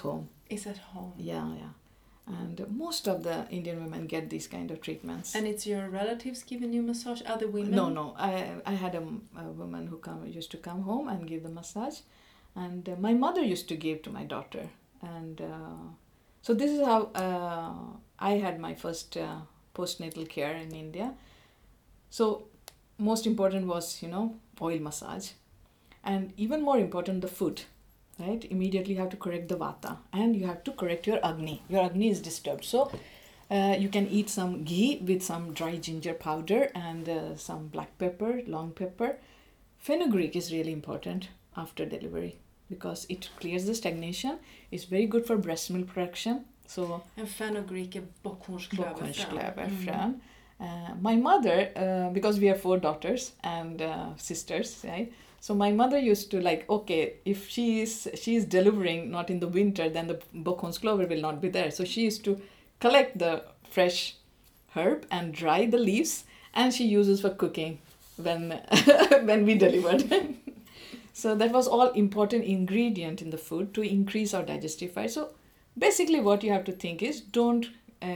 Is at home. Yeah. And most of the Indian women get these kind of treatments. And it's your relatives giving you massage, other women? No. I had a woman who used to come home and give the massage, and my mother used to give to my daughter, and so this is how I had my first postnatal care in India. So most important was oil massage, and even more important the food. Right, immediately you have to correct the vata and you have to correct your agni. Your agni is disturbed, so you can eat some ghee with some dry ginger powder and some black pepper, long pepper. Fenugreek is really important after delivery because it clears the stagnation. It's very good for breast milk production. So and fenugreek är bockhornsklöverfrön. My mother, because we have 4 daughters and sisters, right? So my mother used to if she is delivering not in the winter, then the bockhornsklöver will not be there. So she used to collect the fresh herb and dry the leaves, and she uses for cooking when when we delivered. So that was all important ingredient in the food to increase our digestive fire. So basically what you have to think is don't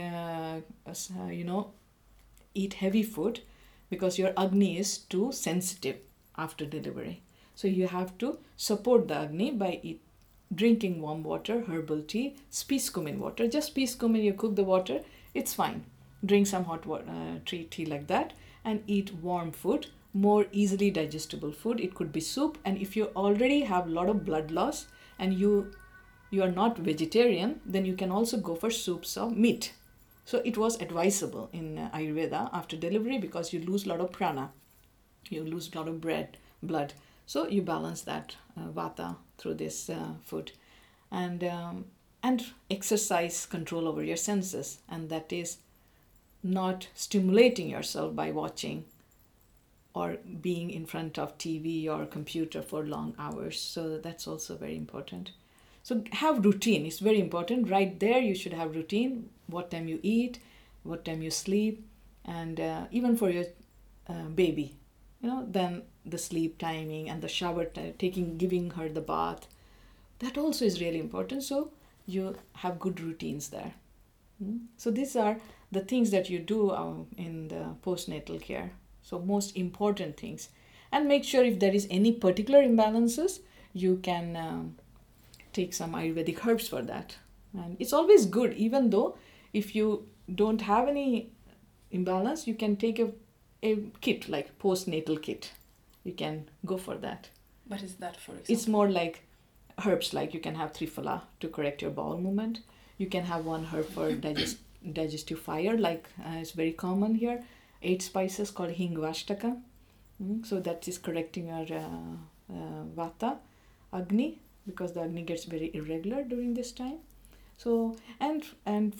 eat heavy food because your agni is too sensitive after delivery. So you have to support the agni by drinking warm water, herbal tea, spice cumin water. Just spice cumin, you cook the water, it's fine. Drink some hot water, tea like that, and eat warm food, more easily digestible food. It could be soup, and if you already have a lot of blood loss and you are not vegetarian, then you can also go for soups of meat. So it was advisable in Ayurveda after delivery because you lose a lot of prana. You lose a lot of blood. So you balance that vata through this food. And exercise control over your senses. And that is not stimulating yourself by watching or being in front of TV or computer for long hours. So that's also very important. So have routine. It's very important. Right there you should have routine. What time you eat, what time you sleep, and even for your baby. Then the sleep timing and the shower giving her the bath, that also is really important. So you have good routines there. So these are the things that you do in the postnatal care. So most important things, and make sure if there is any particular imbalances, you can take some Ayurvedic herbs for that. And it's always good, even though if you don't have any imbalance, you can take a kit like postnatal kit. You can go for that. What is that, for example? It's more like herbs, like you can have Triphala to correct your bowel movement. You can have one herb for digestive fire, like it's very common here. 8 spices called Hingvashtaka. So that is correcting your vata, agni, because the agni gets very irregular during this time. So and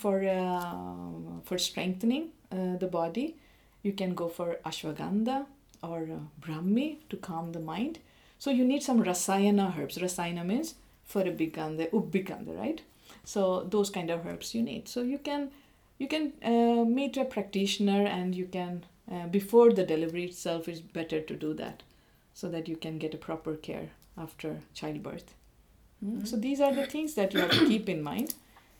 for strengthening the body, you can go for ashwagandha or brahmi to calm the mind. So you need some rasayana herbs. Rasayana means farabikanda, ubbikanda, right? So those kind of herbs you need. So you can meet a practitioner, and you can before the delivery itself is better to do that, so that you can get a proper care after childbirth. So these are the things that you have to keep in mind.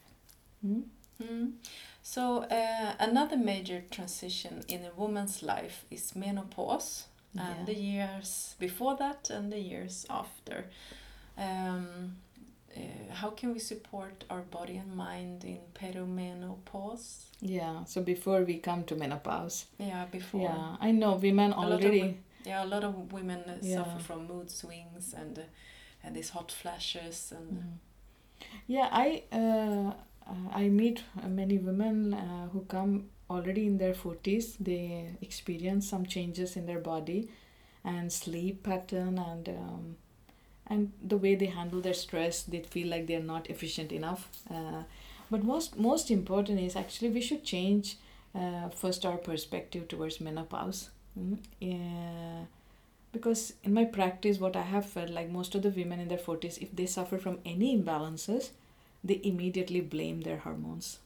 So another major transition in a woman's life is menopause, and the years before that and the years after. How can we support our body and mind in perimenopause? Yeah, so before we come to menopause. Yeah, before. Yeah, I know women already. A lot of women suffer from mood swings and these hot flashes and. Yeah, I meet many women who come already in their 40s. They experience some changes in their body and sleep pattern and the way they handle their stress. They feel like they're not efficient enough. But most important is actually we should change first our perspective towards menopause. Because in my practice, what I have felt, like most of the women in their 40s, if they suffer from any imbalances, they immediately blame their hormones.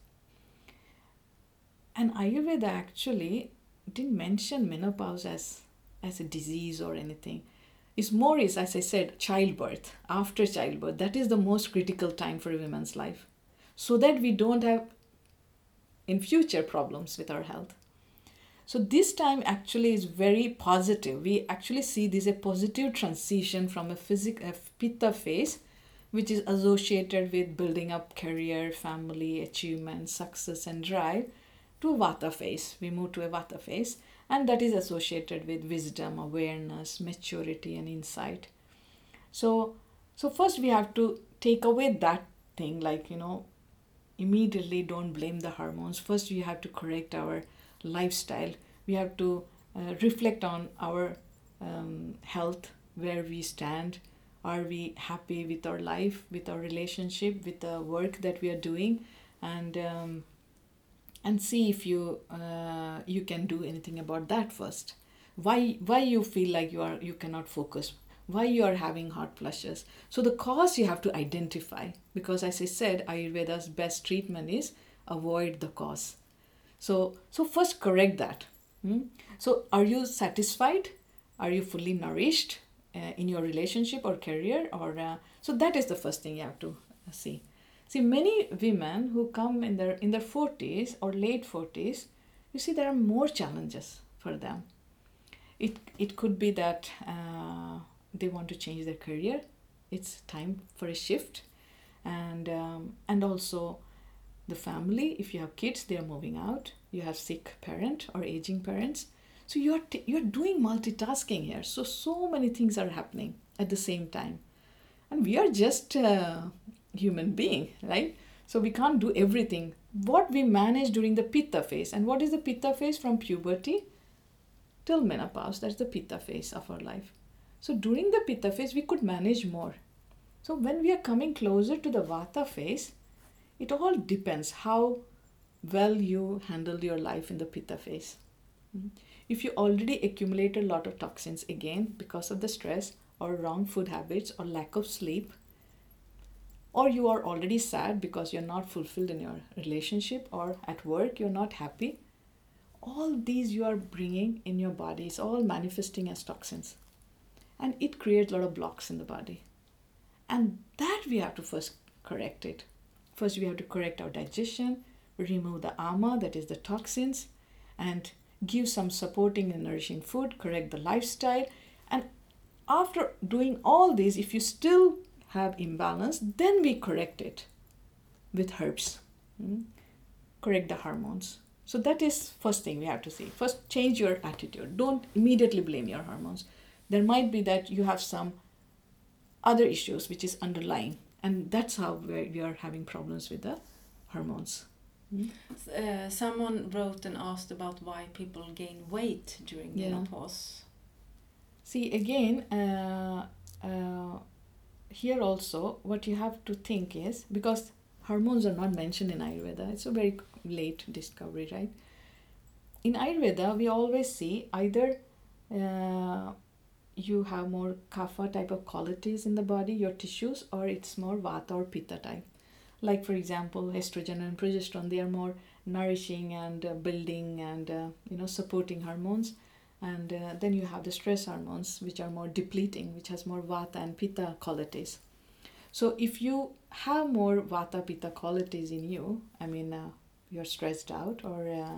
And Ayurveda actually didn't mention menopause as a disease or anything. It's more, as I said, childbirth. After childbirth, that is the most critical time for a woman's life. so that we don't have in future problems with our health. So this time actually is very positive. We actually see this a positive transition from a pitta phase, which is associated with building up career, family, achievement, success, and drive, to vata phase. We move to a vata phase, and that is associated with wisdom, awareness, maturity, and insight. So first we have to take away that thing, like, immediately don't blame the hormones. First we have to correct our lifestyle. We have to reflect on our health, where we stand. Are we happy with our life, with our relationship, with the work that we are doing? And see if you can do anything about that first. Why you feel like you cannot focus? Why you are having hot flushes? So the cause you have to identify, because as I said, Ayurveda's best treatment is avoid the cause. So first correct that. So are you satisfied? Are you fully nourished in your relationship or career? So that is the first thing you have to see. See, many women who come in their 40s or late 40s, you see there are more challenges for them. It could be that they want to change their career. It's time for a shift. And also the family, if you have kids, they are moving out. You have sick parent or aging parents. So you're doing multitasking here. So many things are happening at the same time. And we are just human being, right? So we can't do everything. What we manage during the pitta phase, and what is the pitta phase? From puberty till menopause, that's the pitta phase of our life. So during the pitta phase, we could manage more. So when we are coming closer to the vata phase, it all depends how well you handle your life in the pitta phase. If you already accumulated a lot of toxins, again, because of the stress or wrong food habits or lack of sleep, or you are already sad because you're not fulfilled in your relationship or at work, you're not happy, all these you are bringing in your body is all manifesting as toxins. And it creates a lot of blocks in the body. And that we have to first correct it. First, we have to correct our digestion, remove the ama, that is the toxins, and give some supporting and nourishing food, correct the lifestyle. And after doing all this, if you still have imbalance, then we correct it with herbs. Correct the hormones. So that is first thing we have to see. First, change your attitude. Don't immediately blame your hormones. There might be that you have some other issues which is underlying, and that's how we are having problems with the hormones. Someone wrote and asked about why people gain weight during menopause. See, again, here also what you have to think is, because hormones are not mentioned in Ayurveda, it's a very late discovery, right? In Ayurveda, we always see either you have more kapha type of qualities in the body, your tissues, or it's more vata or pitta type. Like, for example, estrogen and progesterone, they are more nourishing and building and supporting hormones. And then you have the stress hormones, which are more depleting, which has more vata and pitta qualities. So if you have more vata pitta qualities in you, you're stressed out, or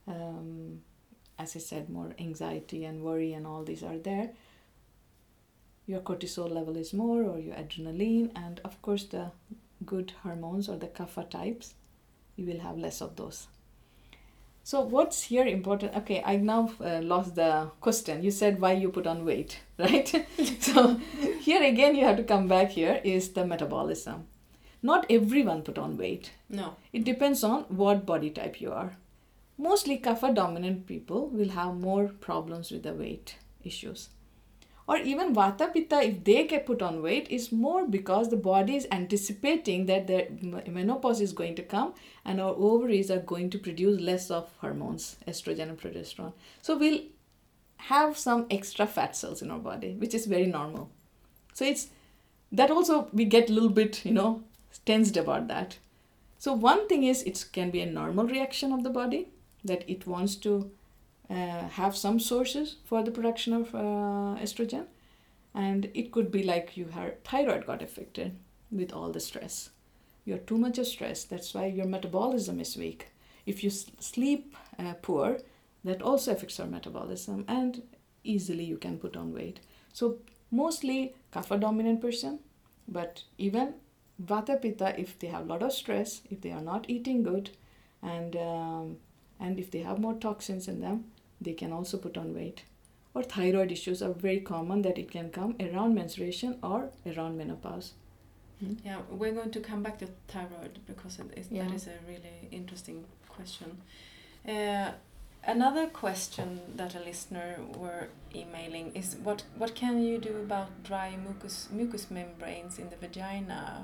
as I said, more anxiety and worry and all these are there, your cortisol level is more, or your adrenaline, and of course the good hormones or the kapha types, you will have less of those. So what's here important? Okay, I now lost the question. You said why you put on weight, right? So here again you have to come back. Here is the metabolism. Not everyone put on weight. No. It depends on what body type you are. Mostly kapha dominant people will have more problems with the weight issues. Or even vata pitta, if they get put on weight, is more because the body is anticipating that the menopause is going to come and our ovaries are going to produce less of hormones, estrogen and progesterone. So we'll have some extra fat cells in our body, which is very normal. So it's that also we get a little bit, tensed about that. So one thing is it can be a normal reaction of the body, that it wants to have some sources for the production of estrogen, and it could be like your thyroid got affected with all the stress. you're too much of stress. That's why your metabolism is weak. If you sleep poor, that also affects our metabolism, and easily you can put on weight. So mostly kapha dominant person, but even vata pitta, if they have a lot of stress, if they are not eating good, and if they have more toxins in them, they can also put on weight. Or thyroid issues are very common, that it can come around menstruation or around menopause. Yeah, we're going to come back to thyroid because that is a really interesting question. Another question that a listener were emailing is what can you do about dry mucous membranes in the vagina?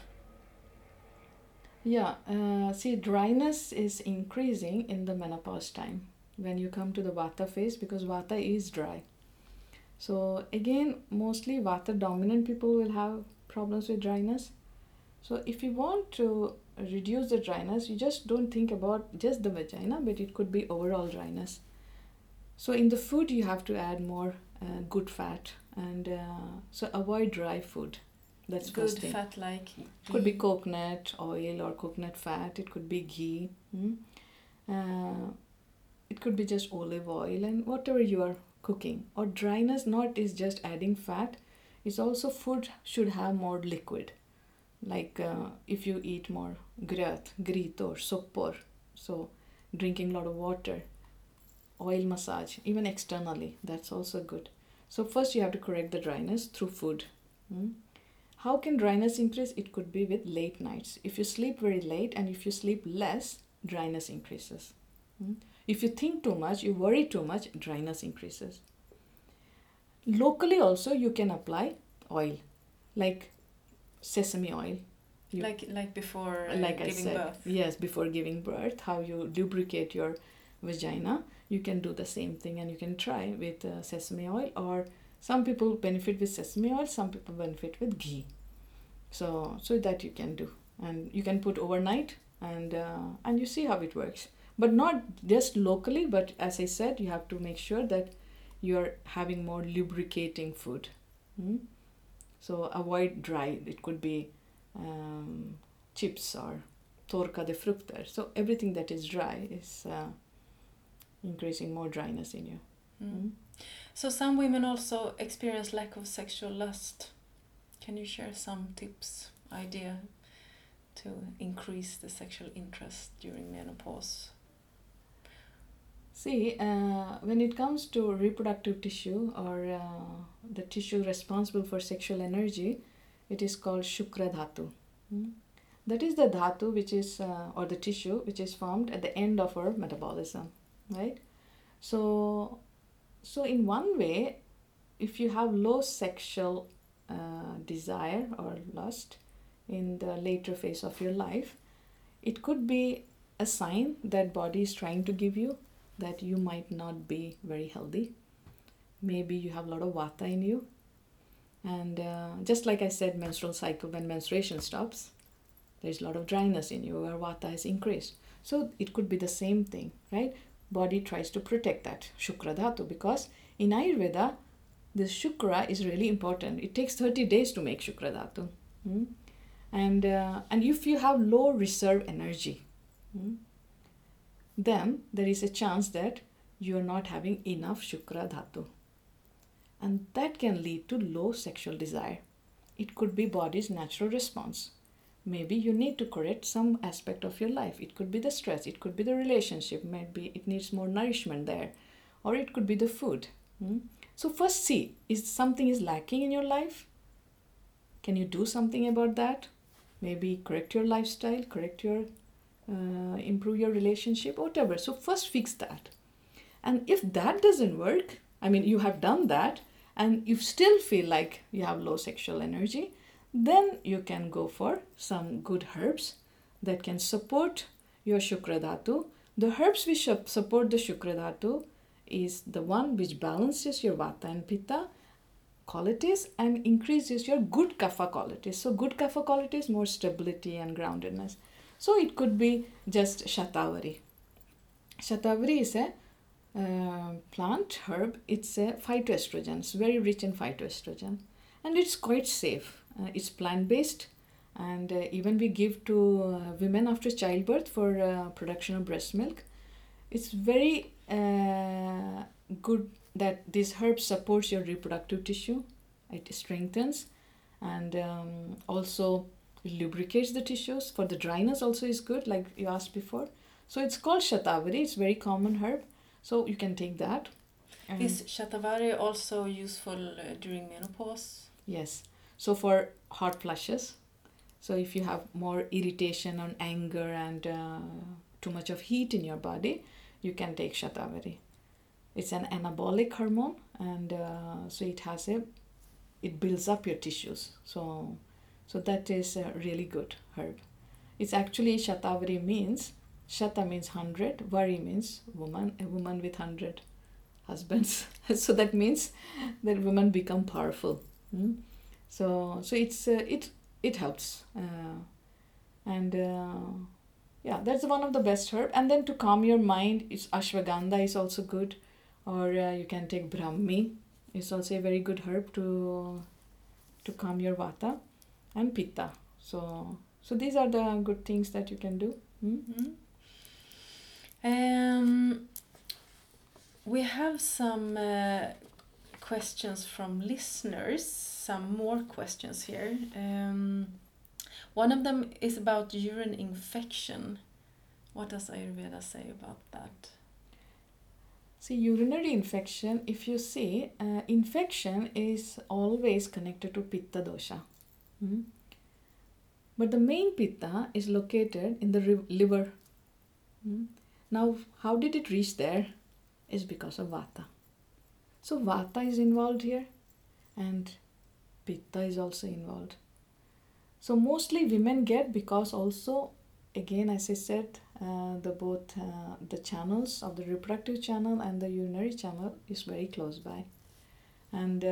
Yeah, see, dryness is increasing in the menopause time when you come to the vata phase, because vata is dry. So again, mostly vata dominant people will have problems with dryness. So if you want to reduce the dryness, you just don't think about just the vagina, but it could be overall dryness. So in the food, you have to add more good fat, and so avoid dry food. That's good thing. Fat like ghee. Could be coconut oil or coconut fat. It could be ghee. It could be just olive oil and whatever you are cooking. Or dryness not is just adding fat. It's also food should have more liquid. Like if you eat more gröt, or soppor, so drinking a lot of water, oil massage, even externally, that's also good. So first you have to correct the dryness through food. How can dryness increase? It could be with late nights. If you sleep very late and if you sleep less, dryness increases. If you think too much, you worry too much, dryness increases. Locally also you can apply oil, like sesame oil. Like before giving birth. Yes, before giving birth, how you lubricate your vagina. You can do the same thing, and you can try with sesame oil, or some people benefit with sesame oil, some people benefit with ghee. So that you can do, and you can put overnight, and you see how it works. But not just locally, but as I said, you have to make sure that you're having more lubricating food. So avoid dry. It could be chips or torkade frukter. So everything that is dry is increasing more dryness in you. So some women also experience lack of sexual lust. Can you share some tips, idea to increase the sexual interest during menopause? See, when it comes to reproductive tissue, or the tissue responsible for sexual energy, it is called Shukra Dhatu. That is the dhatu which is, or the tissue which is formed at the end of our metabolism, right? So in one way, if you have low sexual desire or lust in the later phase of your life, it could be a sign that body is trying to give you that you might not be very healthy. Maybe you have a lot of vata in you, and just like I said, menstrual cycle, when menstruation stops, there's a lot of dryness in you where vata has increased. So it could be the same thing, right? Body tries to protect that Shukra Dhatu, because in Ayurveda, this Shukra is really important. It takes 30 days to make Shukra Dhatu. And if you have low reserve energy, then there is a chance that you are not having enough Shukra Dhatu. And that can lead to low sexual desire. It could be body's natural response. Maybe you need to correct some aspect of your life. It could be the stress, it could be the relationship, maybe it needs more nourishment there, or it could be the food. So first see, is something is lacking in your life? Can you do something about that? Maybe correct your lifestyle, improve your relationship, whatever. So first fix that. And if that doesn't work, I mean, you have done that and you still feel like you have low sexual energy, then you can go for some good herbs that can support your Shukra Dhatu. The herbs which support the Shukra Dhatu is the one which balances your Vata and Pitta qualities and increases your good Kapha qualities. So good Kapha qualities, more stability and groundedness. So it could be just Shatavari. Shatavari is a plant herb. It's a phytoestrogen. It's very rich in phytoestrogen, and it's quite safe. It's plant-based, And even we give to women after childbirth for production of breast milk. It's very good that this herb supports your reproductive tissue. It strengthens and also lubricates the tissues. For the dryness also is good, like you asked before. So it's called shatavari. It's very common herb. So you can take that. Is shatavari also useful during menopause? Yes. So for hot flushes. So if you have more irritation or anger and too much of heat in your body, you can take shatavari. It's an anabolic hormone, and so it builds up your tissues. So that is a really good herb. It's actually shatavari means, shata means 100, vari means woman, a woman with 100 husbands. So that means that women become powerful. So it helps, and yeah, that's one of the best herb. And then to calm your mind, it's ashwagandha is also good, or you can take brahmi. It's also a very good herb to calm your vata and pitta. So these are the good things that you can do. We have some questions from listeners, some more questions here. One of them is about urine infection. What does Ayurveda say about that? See, urinary infection, if you see, infection is always connected to pitta dosha. But the main pitta is located in the liver. Now, how did it reach there? Is because of vata. So vata is involved here, and pitta is also involved. So mostly women get, because also, again, as I said, the channels of the reproductive channel and the urinary channel is very close by, and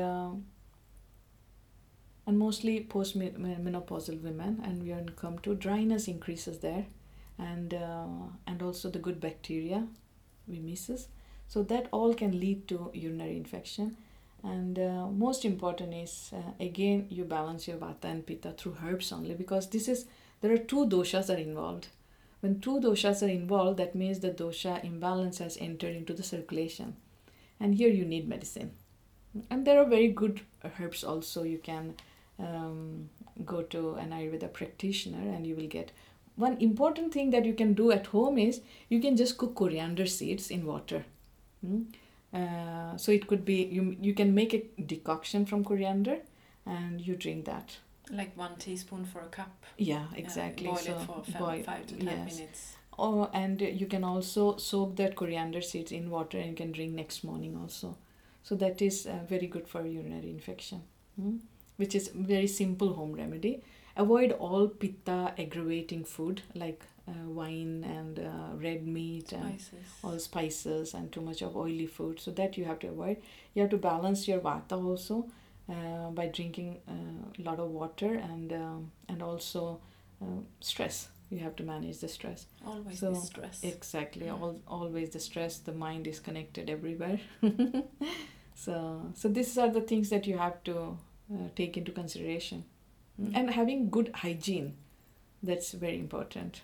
mostly post-menopausal women, and we come to dryness increases there, and also the good bacteria we misses. So that all can lead to urinary infection. And most important is, again, you balance your vata and pitta through herbs only, because there are two doshas are involved. When two doshas are involved, that means the dosha imbalance has entered into the circulation. And here you need medicine. And there are very good herbs also. You can go to an Ayurveda practitioner and you will get. One important thing that you can do at home is you can just cook coriander seeds in water. So it could be, you can make a decoction from coriander and you drink that. Like 1 teaspoon for a cup? Yeah, exactly. Boil it for 5 to 10 minutes. Oh, and you can also soak that coriander seeds in water and you can drink next morning also. So that is very good for urinary infection, which is very simple home remedy. Avoid all pitta aggravating food like wine and red meat and all spices and too much of oily food. So that you have to avoid. You have to balance your vata also by drinking a lot of water, and also stress. You have to manage the stress. Always the stress. Exactly. Always the stress. The mind is connected everywhere. So these are the things that you have to take into consideration. And having good hygiene, that's very important.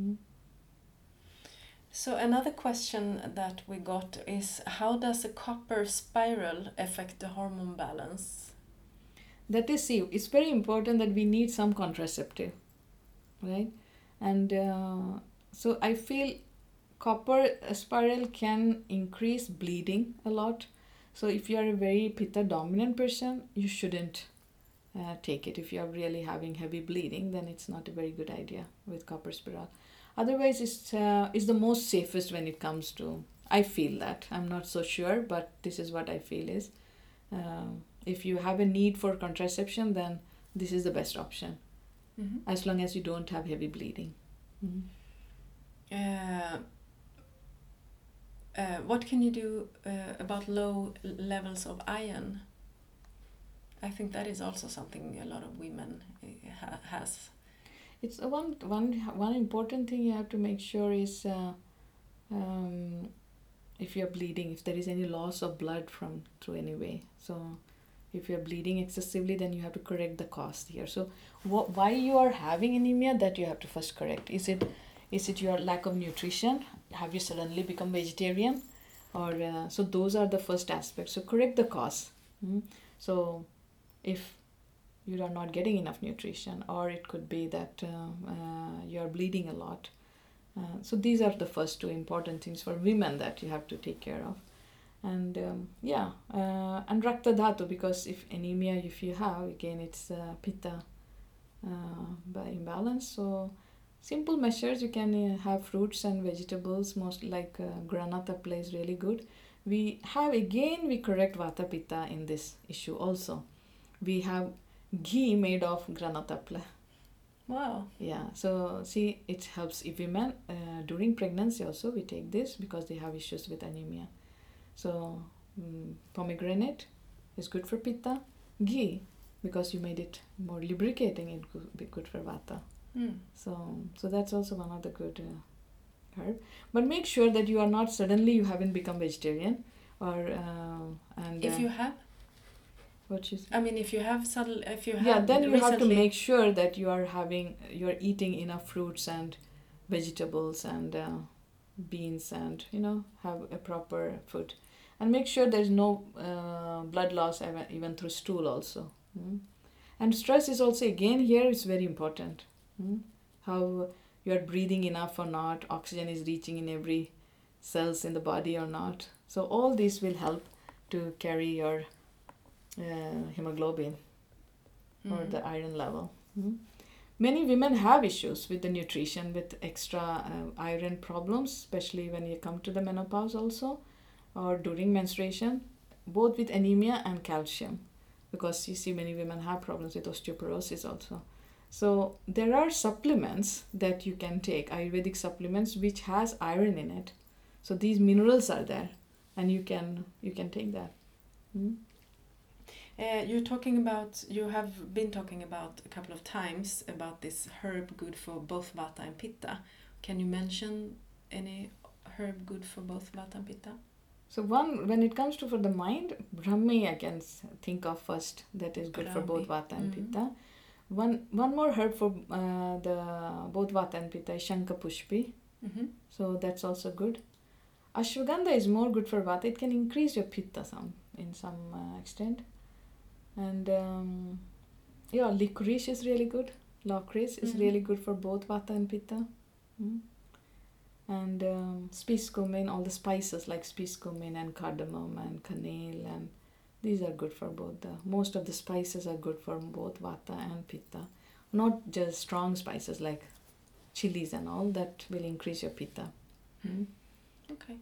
So another question that we got is, how does a copper spiral affect the hormone balance? That is, see, it's very important that we need some contraceptive, right? And so I feel copper spiral can increase bleeding a lot. So if you are a very pitta dominant person, you shouldn't take it. If you are really having heavy bleeding, then it's not a very good idea with copper spiral. Otherwise, it's the most safest when it comes to, I feel that. I'm not so sure, but this is what I feel is. If you have a need for contraception, then this is the best option. As long as you don't have heavy bleeding. What can you do about low levels of iron? I think that is also something a lot of women has. It's one important thing you have to make sure is if you're bleeding, if there is any loss of blood through any way. So If you're bleeding excessively, then you have to correct the cause here. So why you are having anemia, that you have to first correct. Is it your lack of nutrition? Have you suddenly become vegetarian? Or so those are the first aspects. So correct the cause. So if you are not getting enough nutrition, or it could be that you are bleeding a lot. So these are the first two important things for women that you have to take care of. And and Rakta Dhatu, because if anemia, if you have, again, it's Pitta by imbalance. So simple measures, you can have fruits and vegetables, most like Granatha plays really good. We correct Vata Pitta in this issue also. We have ghee made of Granatapla. Wow. Yeah, so see, it helps if women during pregnancy also we take this because they have issues with anemia. So pomegranate is good for Pitta. Ghee, because you made it more lubricating, it could be good for Vata. So that's also one of the good herb. But make sure that you are not suddenly you haven't become vegetarian, or if you have. I mean, if you have then you have to make sure that you're eating enough fruits and vegetables and beans, and have a proper food, and make sure there's no blood loss even through stool also. And stress is also, again, here is very important. How you are breathing enough or not, oxygen is reaching in every cells in the body or not. So all these will help to carry your hemoglobin or the iron level. Many women have issues with the nutrition, with extra iron problems, especially when you come to the menopause also, or during menstruation, both with anemia and calcium, because you see many women have problems with osteoporosis also. So there are supplements that you can take, Ayurvedic supplements, which has iron in it. So these minerals are there, and you can take that. You have been talking about a couple of times about this herb good for both Vata and Pitta. Can you mention any herb good for both Vata and Pitta? So when it comes to for the mind, Brahmi I can think of first, that is good for both Vata and Pitta. One more herb for the both Vata and Pitta is Shankapushpi. So that's also good. Ashwagandha is more good for Vata. It can increase your Pitta in some extent. And licorice is really good. Licorice is really good for both Vata and Pitta. And spice-cumin, all the spices like spice-cumin and cardamom and cannel, and these are good for both. Most of the spices are good for both Vata and Pitta. Not just strong spices like chilies and all, that will increase your Pitta. Okay.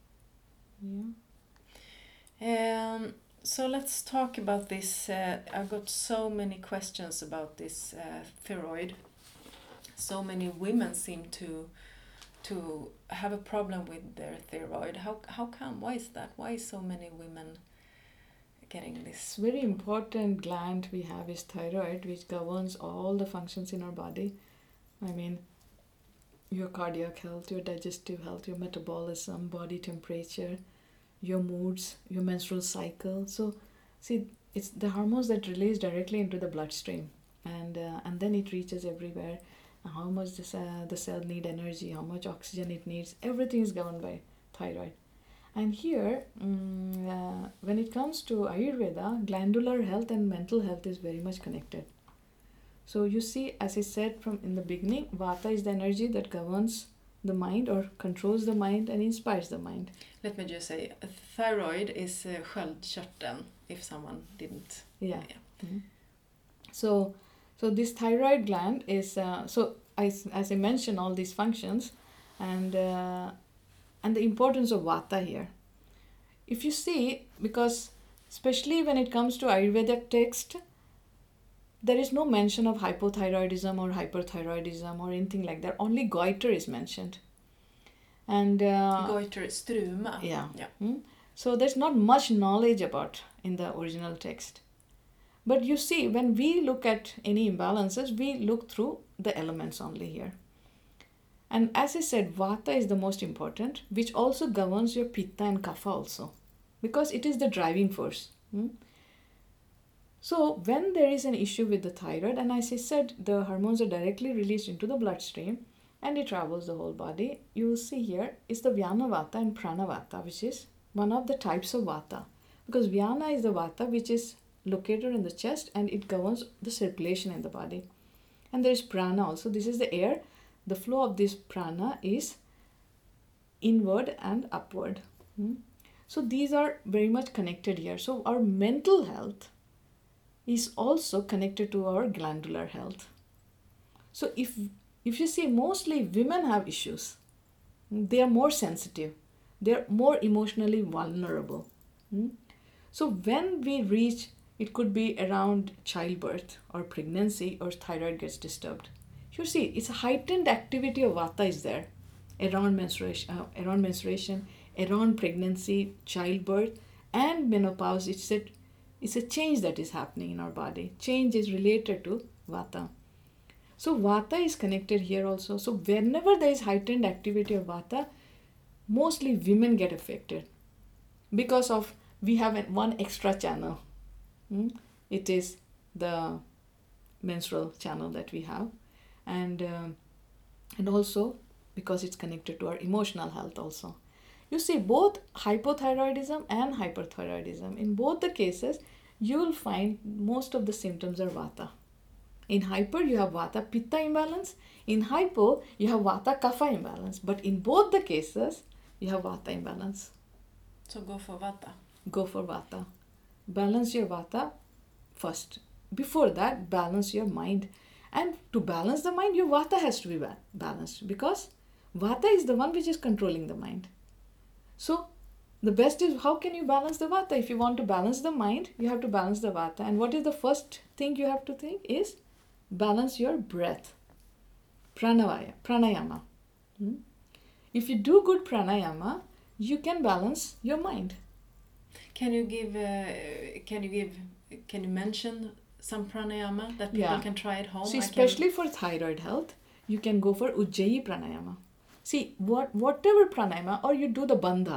Yeah. So let's talk about this. I've got so many questions about this thyroid. So many women seem to have a problem with their thyroid. How come? Why is that? Why so many women getting this? Very important gland we have is thyroid, which governs all the functions in our body. I mean, your cardiac health, your digestive health, your metabolism, body temperature, your moods, your menstrual cycle. So see, it's the hormones that release directly into the bloodstream, and then it reaches everywhere. How much the cell need energy, how much oxygen it needs, everything is governed by thyroid. And here, when it comes to Ayurveda, glandular health and mental health is very much connected. So you see, as I said from in the beginning, Vata is the energy that governs the mind or controls the mind and inspires the mind. Let me just say, thyroid is sköldkörteln, if someone didn't. Yeah. So this thyroid gland is, as I mentioned, all these functions, and the importance of Vata here. If you see, because especially when it comes to Ayurvedic text, there is no mention of hypothyroidism or hyperthyroidism or anything like that. Only goiter is mentioned. And goiter, struma. Yeah. So there's not much knowledge about in the original text. But you see, when we look at any imbalances, we look through the elements only here. And as I said, Vata is the most important, which also governs your Pitta and Kapha also, because it is the driving force. So when there is an issue with the thyroid, and as I said, the hormones are directly released into the bloodstream and it travels the whole body. You will see here is the Vyana Vata and Prana Vata, which is one of the types of Vata. Because Vyana is the Vata which is located in the chest and it governs the circulation in the body. And there is Prana also. This is the air. The flow of this prana is inward and upward. So these are very much connected here. So our mental health is also connected to our glandular health. So if you see, mostly women have issues. They are more sensitive. They are more emotionally vulnerable. So when we reach, it could be around childbirth or pregnancy, or thyroid gets disturbed. You see, it's a heightened activity of Vata is there around menstruation, around pregnancy, childbirth, and menopause. It's a change that is happening in our body. Change is related to Vata. So Vata is connected here also. So whenever there is heightened activity of Vata, mostly women get affected because of we have one extra channel. It is the menstrual channel that we have, and also because it's connected to our emotional health also. You see, both hypothyroidism and hyperthyroidism, in both the cases, you will find most of the symptoms are Vata. In hyper, you have Vata Pitta imbalance. In hypo, you have Vata Kapha imbalance. But in both the cases, you have Vata imbalance. So go for Vata. Go for Vata. Balance your Vata first. Before that, balance your mind. And to balance the mind, your Vata has to be balanced, because Vata is the one which is controlling the mind. So the best is, how can you balance the Vata? If you want to balance the mind, you have to balance the Vata. And what is the first thing you have to think is balance your breath. Pranayama. If you do good pranayama, you can balance your mind. Can you mention some pranayama that people can try at home? So especially for thyroid health, you can go for Ujjayi pranayama. See, whatever pranayama, or you do the bandha.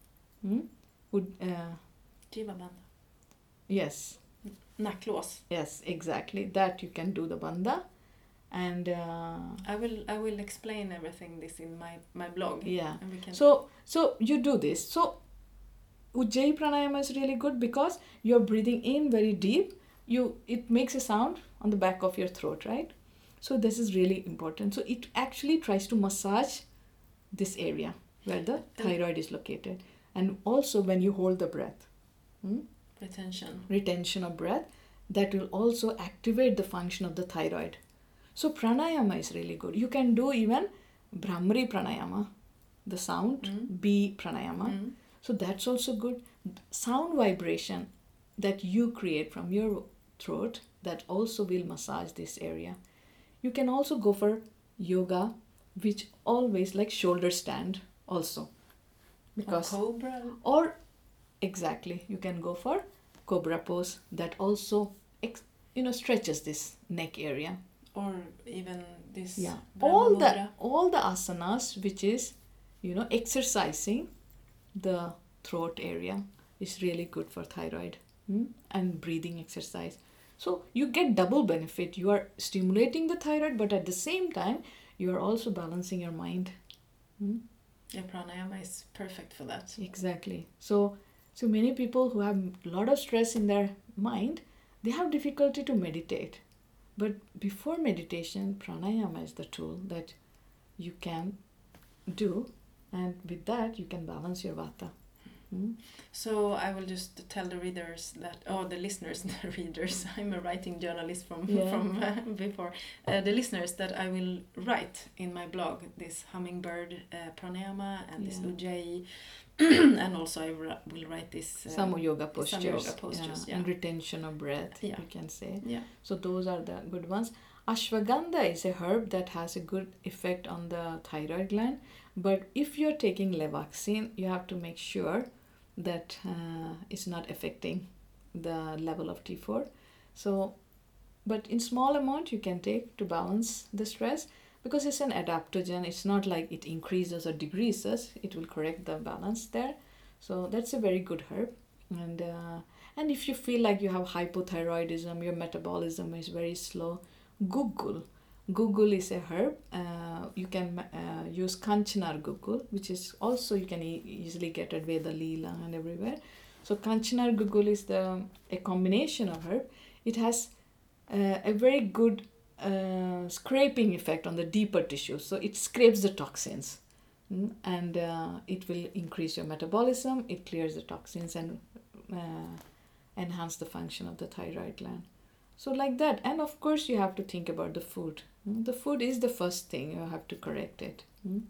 Jiva bandha. Yes. Nacklås. Yes, exactly. That you can do the bandha. And I will explain everything this in my blog. Yeah. And we can... So you do this. So Ujjayi pranayama is really good because you're breathing in very deep. It makes a sound on the back of your throat, right? So this is really important. So it actually tries to massage this area where the thyroid is located. And also when you hold the breath. Retention of breath. That will also activate the function of the thyroid. So pranayama is really good. You can do even Brahmari pranayama, the sound, B pranayama. So that's also good. Sound vibration that you create from your throat, that also will massage this area. You can also go for yoga, which always like shoulder stand also. Because cobra? Or exactly, you can go for cobra pose that also stretches this neck area. Or even this. Yeah, all the asanas which is exercising the throat area is really good for thyroid. And breathing exercise. So you get double benefit. You are stimulating the thyroid, but at the same time you are also balancing your mind. Yeah, pranayama is perfect for that. Exactly. So many people who have a lot of stress in their mind, they have difficulty to meditate. But before meditation, pranayama is the tool that you can do, and with that you can balance your vata. So I will just tell the readers the listeners, the readers. I'm a writing journalist from before. The listeners that I will write in my blog this hummingbird pranayama and this Ujjayi, and also I will write this some yoga postures, and retention of breath. You can say. Yeah. So those are the good ones. Ashwagandha is a herb that has a good effect on the thyroid gland, but if you're taking Levaxin, you have to make sure that it's not affecting the level of T4. So, but in small amount you can take to balance the stress, because it's an adaptogen. It's not like it increases or decreases. It will correct the balance there. So that's a very good herb. And if you feel like you have hypothyroidism, your metabolism is very slow, gugul. Gugul is a herb. You can use Kanchanar gugul, which is also you can easily get at Veda Leela and everywhere. So Kanchanar gugul is a combination of herb. It has a very good scraping effect on the deeper tissue. So it scrapes the toxins. And it will increase your metabolism, it clears the toxins and enhance the function of the thyroid gland. So like that. And of course you have to think about the food. The food is the first thing, you have to correct it.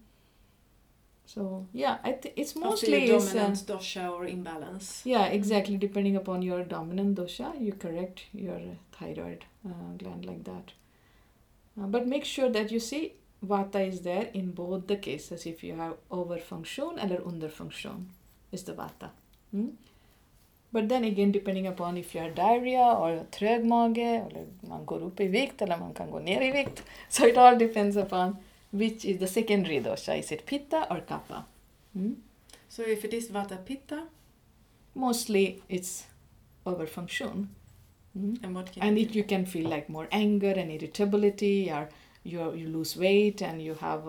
So yeah, it's mostly your dominant dosha or imbalance. Yeah, exactly. Depending upon your dominant dosha, you correct your thyroid gland like that. But make sure that you see Vata is there in both the cases. If you have overfunction or underfunction, is the Vata. But then again, depending upon if you have diarrhea or trög mage, eller man går upp i vikt eller man kan gå ner i vikt. So it all depends upon which is the secondary dosha. Is it Pitta or Kapha? So if it is Vata Pitta? Mostly it's overfunction. And what can you can feel like more anger and irritability, or you lose weight and you have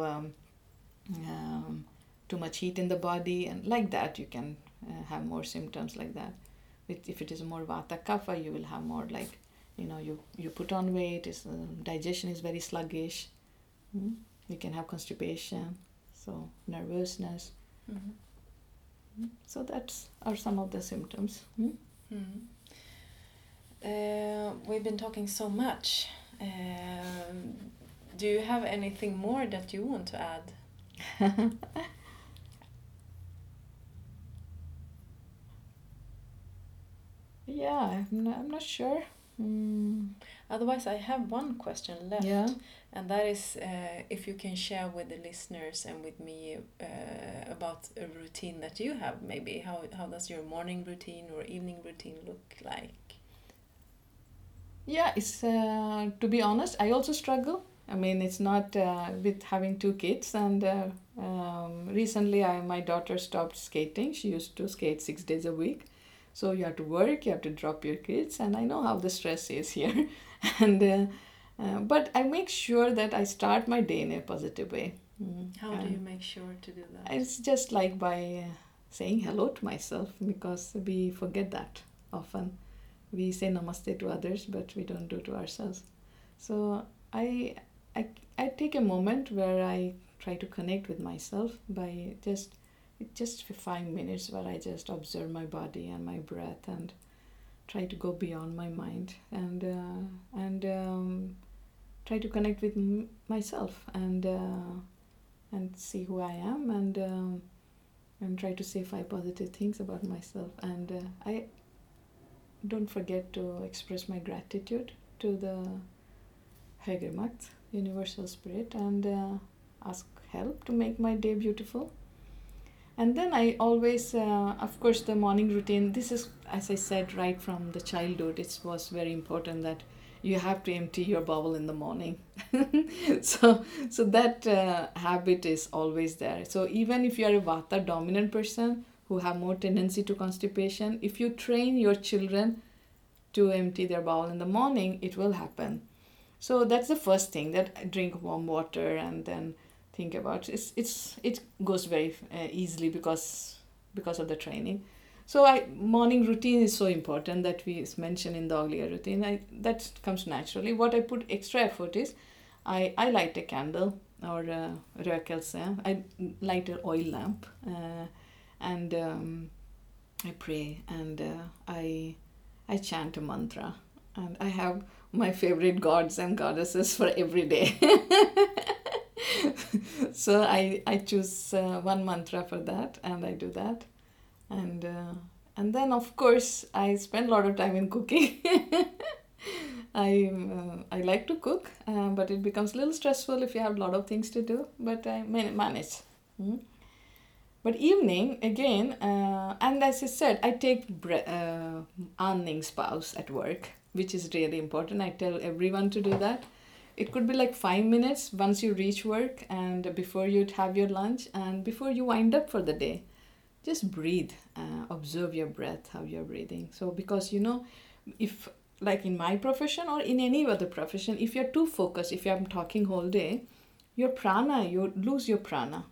too much heat in the body, and like that you can have more symptoms like that. If it is more Vata Kapha, you will have more like, you put on weight, digestion is very sluggish. You can have constipation, so nervousness. So that's are some of the symptoms. We've been talking so much. Do you have anything more that you want to add? Yeah, I'm not sure. Otherwise, I have one question left. Yeah. And that is if you can share with the listeners and with me about a routine that you have, maybe. How does your morning routine or evening routine look like? Yeah, it's to be honest, I also struggle. I mean, it's not with having 2 kids, and recently my daughter stopped skating. She used to skate 6 days a week. So you have to work, you have to drop your kids, and I know how the stress is here. And but I make sure that I start my day in a positive way. How do you make sure to do that? It's just like by saying hello to myself, because we forget that often. We say namaste to others, but we don't do to ourselves. So I take a moment where I try to connect with myself by just for 5 minutes, where I just observe my body and my breath and try to go beyond my mind and try to connect with myself and see who I am and try to say 5 positive things about myself. And I don't forget to express my gratitude to the Högre Makt, Universal Spirit, and ask help to make my day beautiful. And then I always, of course, the morning routine, this is, as I said, right from the childhood, it was very important that you have to empty your bowel in the morning. So that habit is always there. So even if you are a Vata dominant person who have more tendency to constipation, if you train your children to empty their bowel in the morning, it will happen. So that's the first thing, that drink warm water and then think about it goes very easily because of the training. So morning routine is so important that we mentioned in the earlier routine. That comes naturally. What I put extra effort is I light a candle or rökelse. I light an oil lamp and I pray and I chant a mantra, and I have my favorite gods and goddesses for every day. So I choose one mantra for that, and I do that, and then of course I spend a lot of time in cooking. I like to cook, but it becomes a little stressful if you have a lot of things to do, but I manage. But evening again, and as I said, I take andningspaus at work, which is really important. I tell everyone to do that. It could be like 5 minutes once you reach work and before you have your lunch and before you wind up for the day. just breathe, observe your breath, how you're breathing. So because if like in my profession or in any other profession, if you're too focused, if I'm talking whole day, your prana, you lose your prana.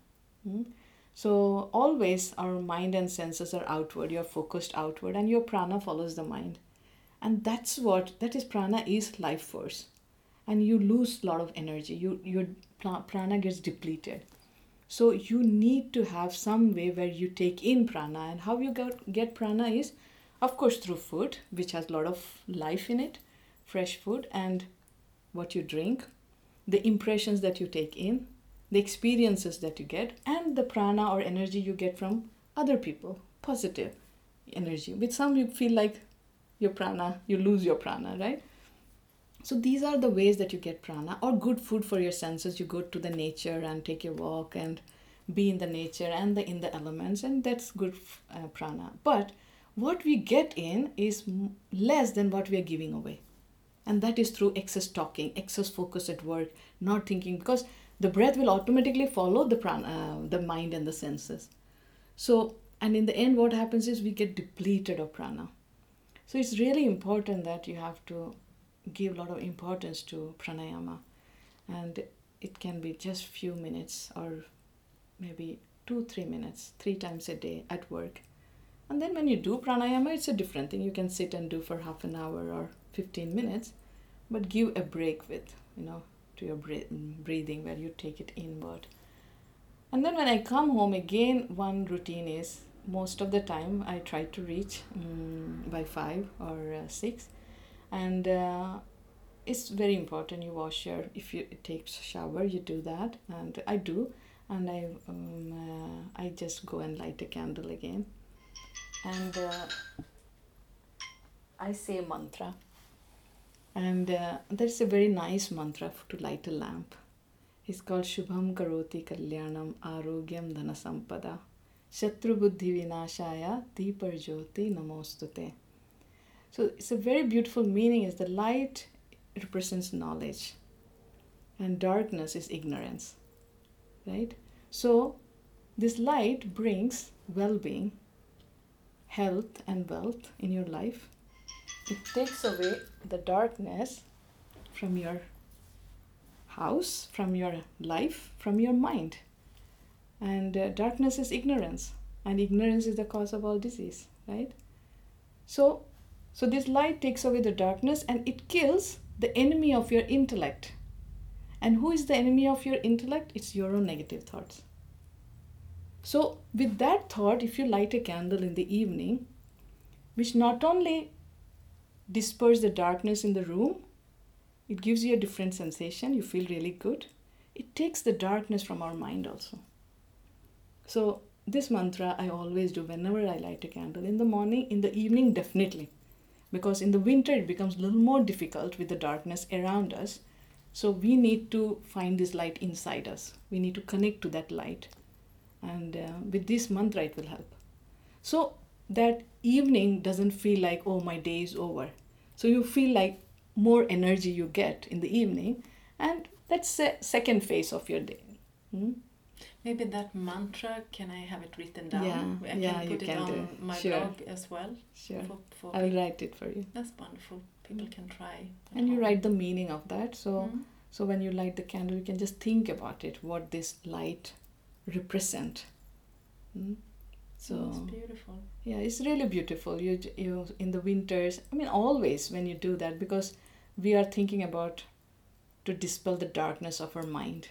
So always our mind and senses are outward, you're focused outward, and your prana follows the mind. And that is prana is life force. And you lose a lot of energy. Your prana gets depleted. So you need to have some way where you take in prana. And how you get prana is, of course, through food, which has a lot of life in it, fresh food, and what you drink, the impressions that you take in, the experiences that you get, and the prana or energy you get from other people, positive energy. With some, you feel like your prana, you lose your prana, right? So these are the ways that you get prana, or good food for your senses. You go to the nature and take a walk and be in the nature and in the elements, and that's good prana. But what we get in is less than what we are giving away. And that is through excess talking, excess focus at work, not thinking, because the breath will automatically follow the prana, the mind and the senses. So, and in the end, what happens is we get depleted of prana. So it's really important that you have to give a lot of importance to pranayama, and it can be just few minutes or maybe 2-3 minutes 3 times a day at work. And then when you do pranayama, it's a different thing. You can sit and do for half an hour or 15 minutes, but give a break with to your breathing, where you take it inward. And then when I come home again, one routine is, most of the time I try to reach by 5 or 6. And it's very important you wash if you take shower, you do that, and I do. And I just go and light a candle again, and I say mantra. And there's a very nice mantra to light a lamp. It's called Shubham Karoti Kalyanam Arogyam Dhanasampada Shatru Buddhi Vinashaya Deepar Jyoti Namostute. So it's a very beautiful meaning, is the light represents knowledge and darkness is ignorance, right? So this light brings well-being, health and wealth in your life. It takes away the darkness from your house, from your life, from your mind. And darkness is ignorance, and ignorance is the cause of all disease, right? So this light takes away the darkness, and it kills the enemy of your intellect. And who is the enemy of your intellect? It's your own negative thoughts. So with that thought, if you light a candle in the evening, which not only disperse the darkness in the room, it gives you a different sensation, you feel really good. It takes the darkness from our mind also. So this mantra I always do whenever I light a candle, in the morning, in the evening definitely. Because in the winter it becomes a little more difficult with the darkness around us. So we need to find this light inside us. We need to connect to that light. And with this mantra it will help. So that evening doesn't feel like, oh, my day is over. So you feel like more energy you get in the evening, and that's the second phase of your day. Maybe that mantra, can I have it written down? Yeah, I can put it on my blog as well. Sure. I'll write it for you. That's wonderful. People can try. And you write the meaning of that. So when you light the candle, you can just think about it, what this light represent. So it's beautiful. Yeah, it's really beautiful. You in the winters, always when you do that, because we are thinking about to dispel the darkness of our mind.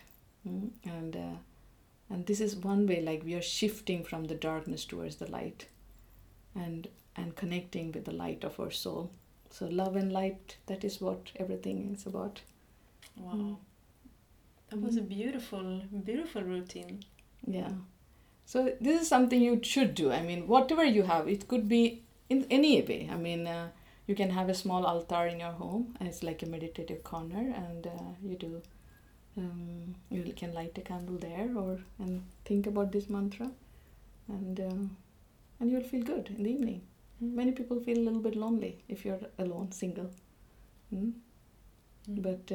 And this is one way, like we are shifting from the darkness towards the light, and connecting with the light of our soul. So love and light, that is what everything is about. Wow. That was a beautiful, beautiful routine. Yeah. So this is something you should do. Whatever you have, it could be in any way. You can have a small altar in your home, and it's like a meditative corner, and you do. You can light a candle there, and think about this mantra, and you'll feel good in the evening. Many people feel a little bit lonely if you're alone, single. But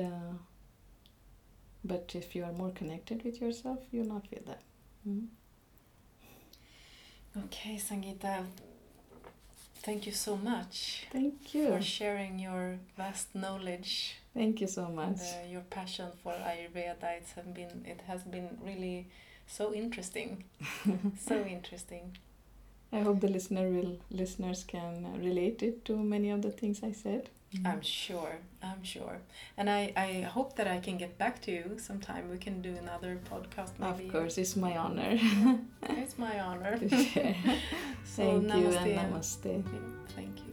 if you are more connected with yourself, you'll not feel that. Okay, Sangeeta, thank you so much Thank you. for sharing your vast knowledge. Thank you so much. And your passion for Ayurveda. It has been really so interesting. So interesting. I hope the listeners can relate it to many of the things I said. I'm sure. And I hope that I can get back to you sometime. We can do another podcast maybe. Of course, it's my honor. It's my honor. To share. So, Thank you namaste. and namaste. Thank you.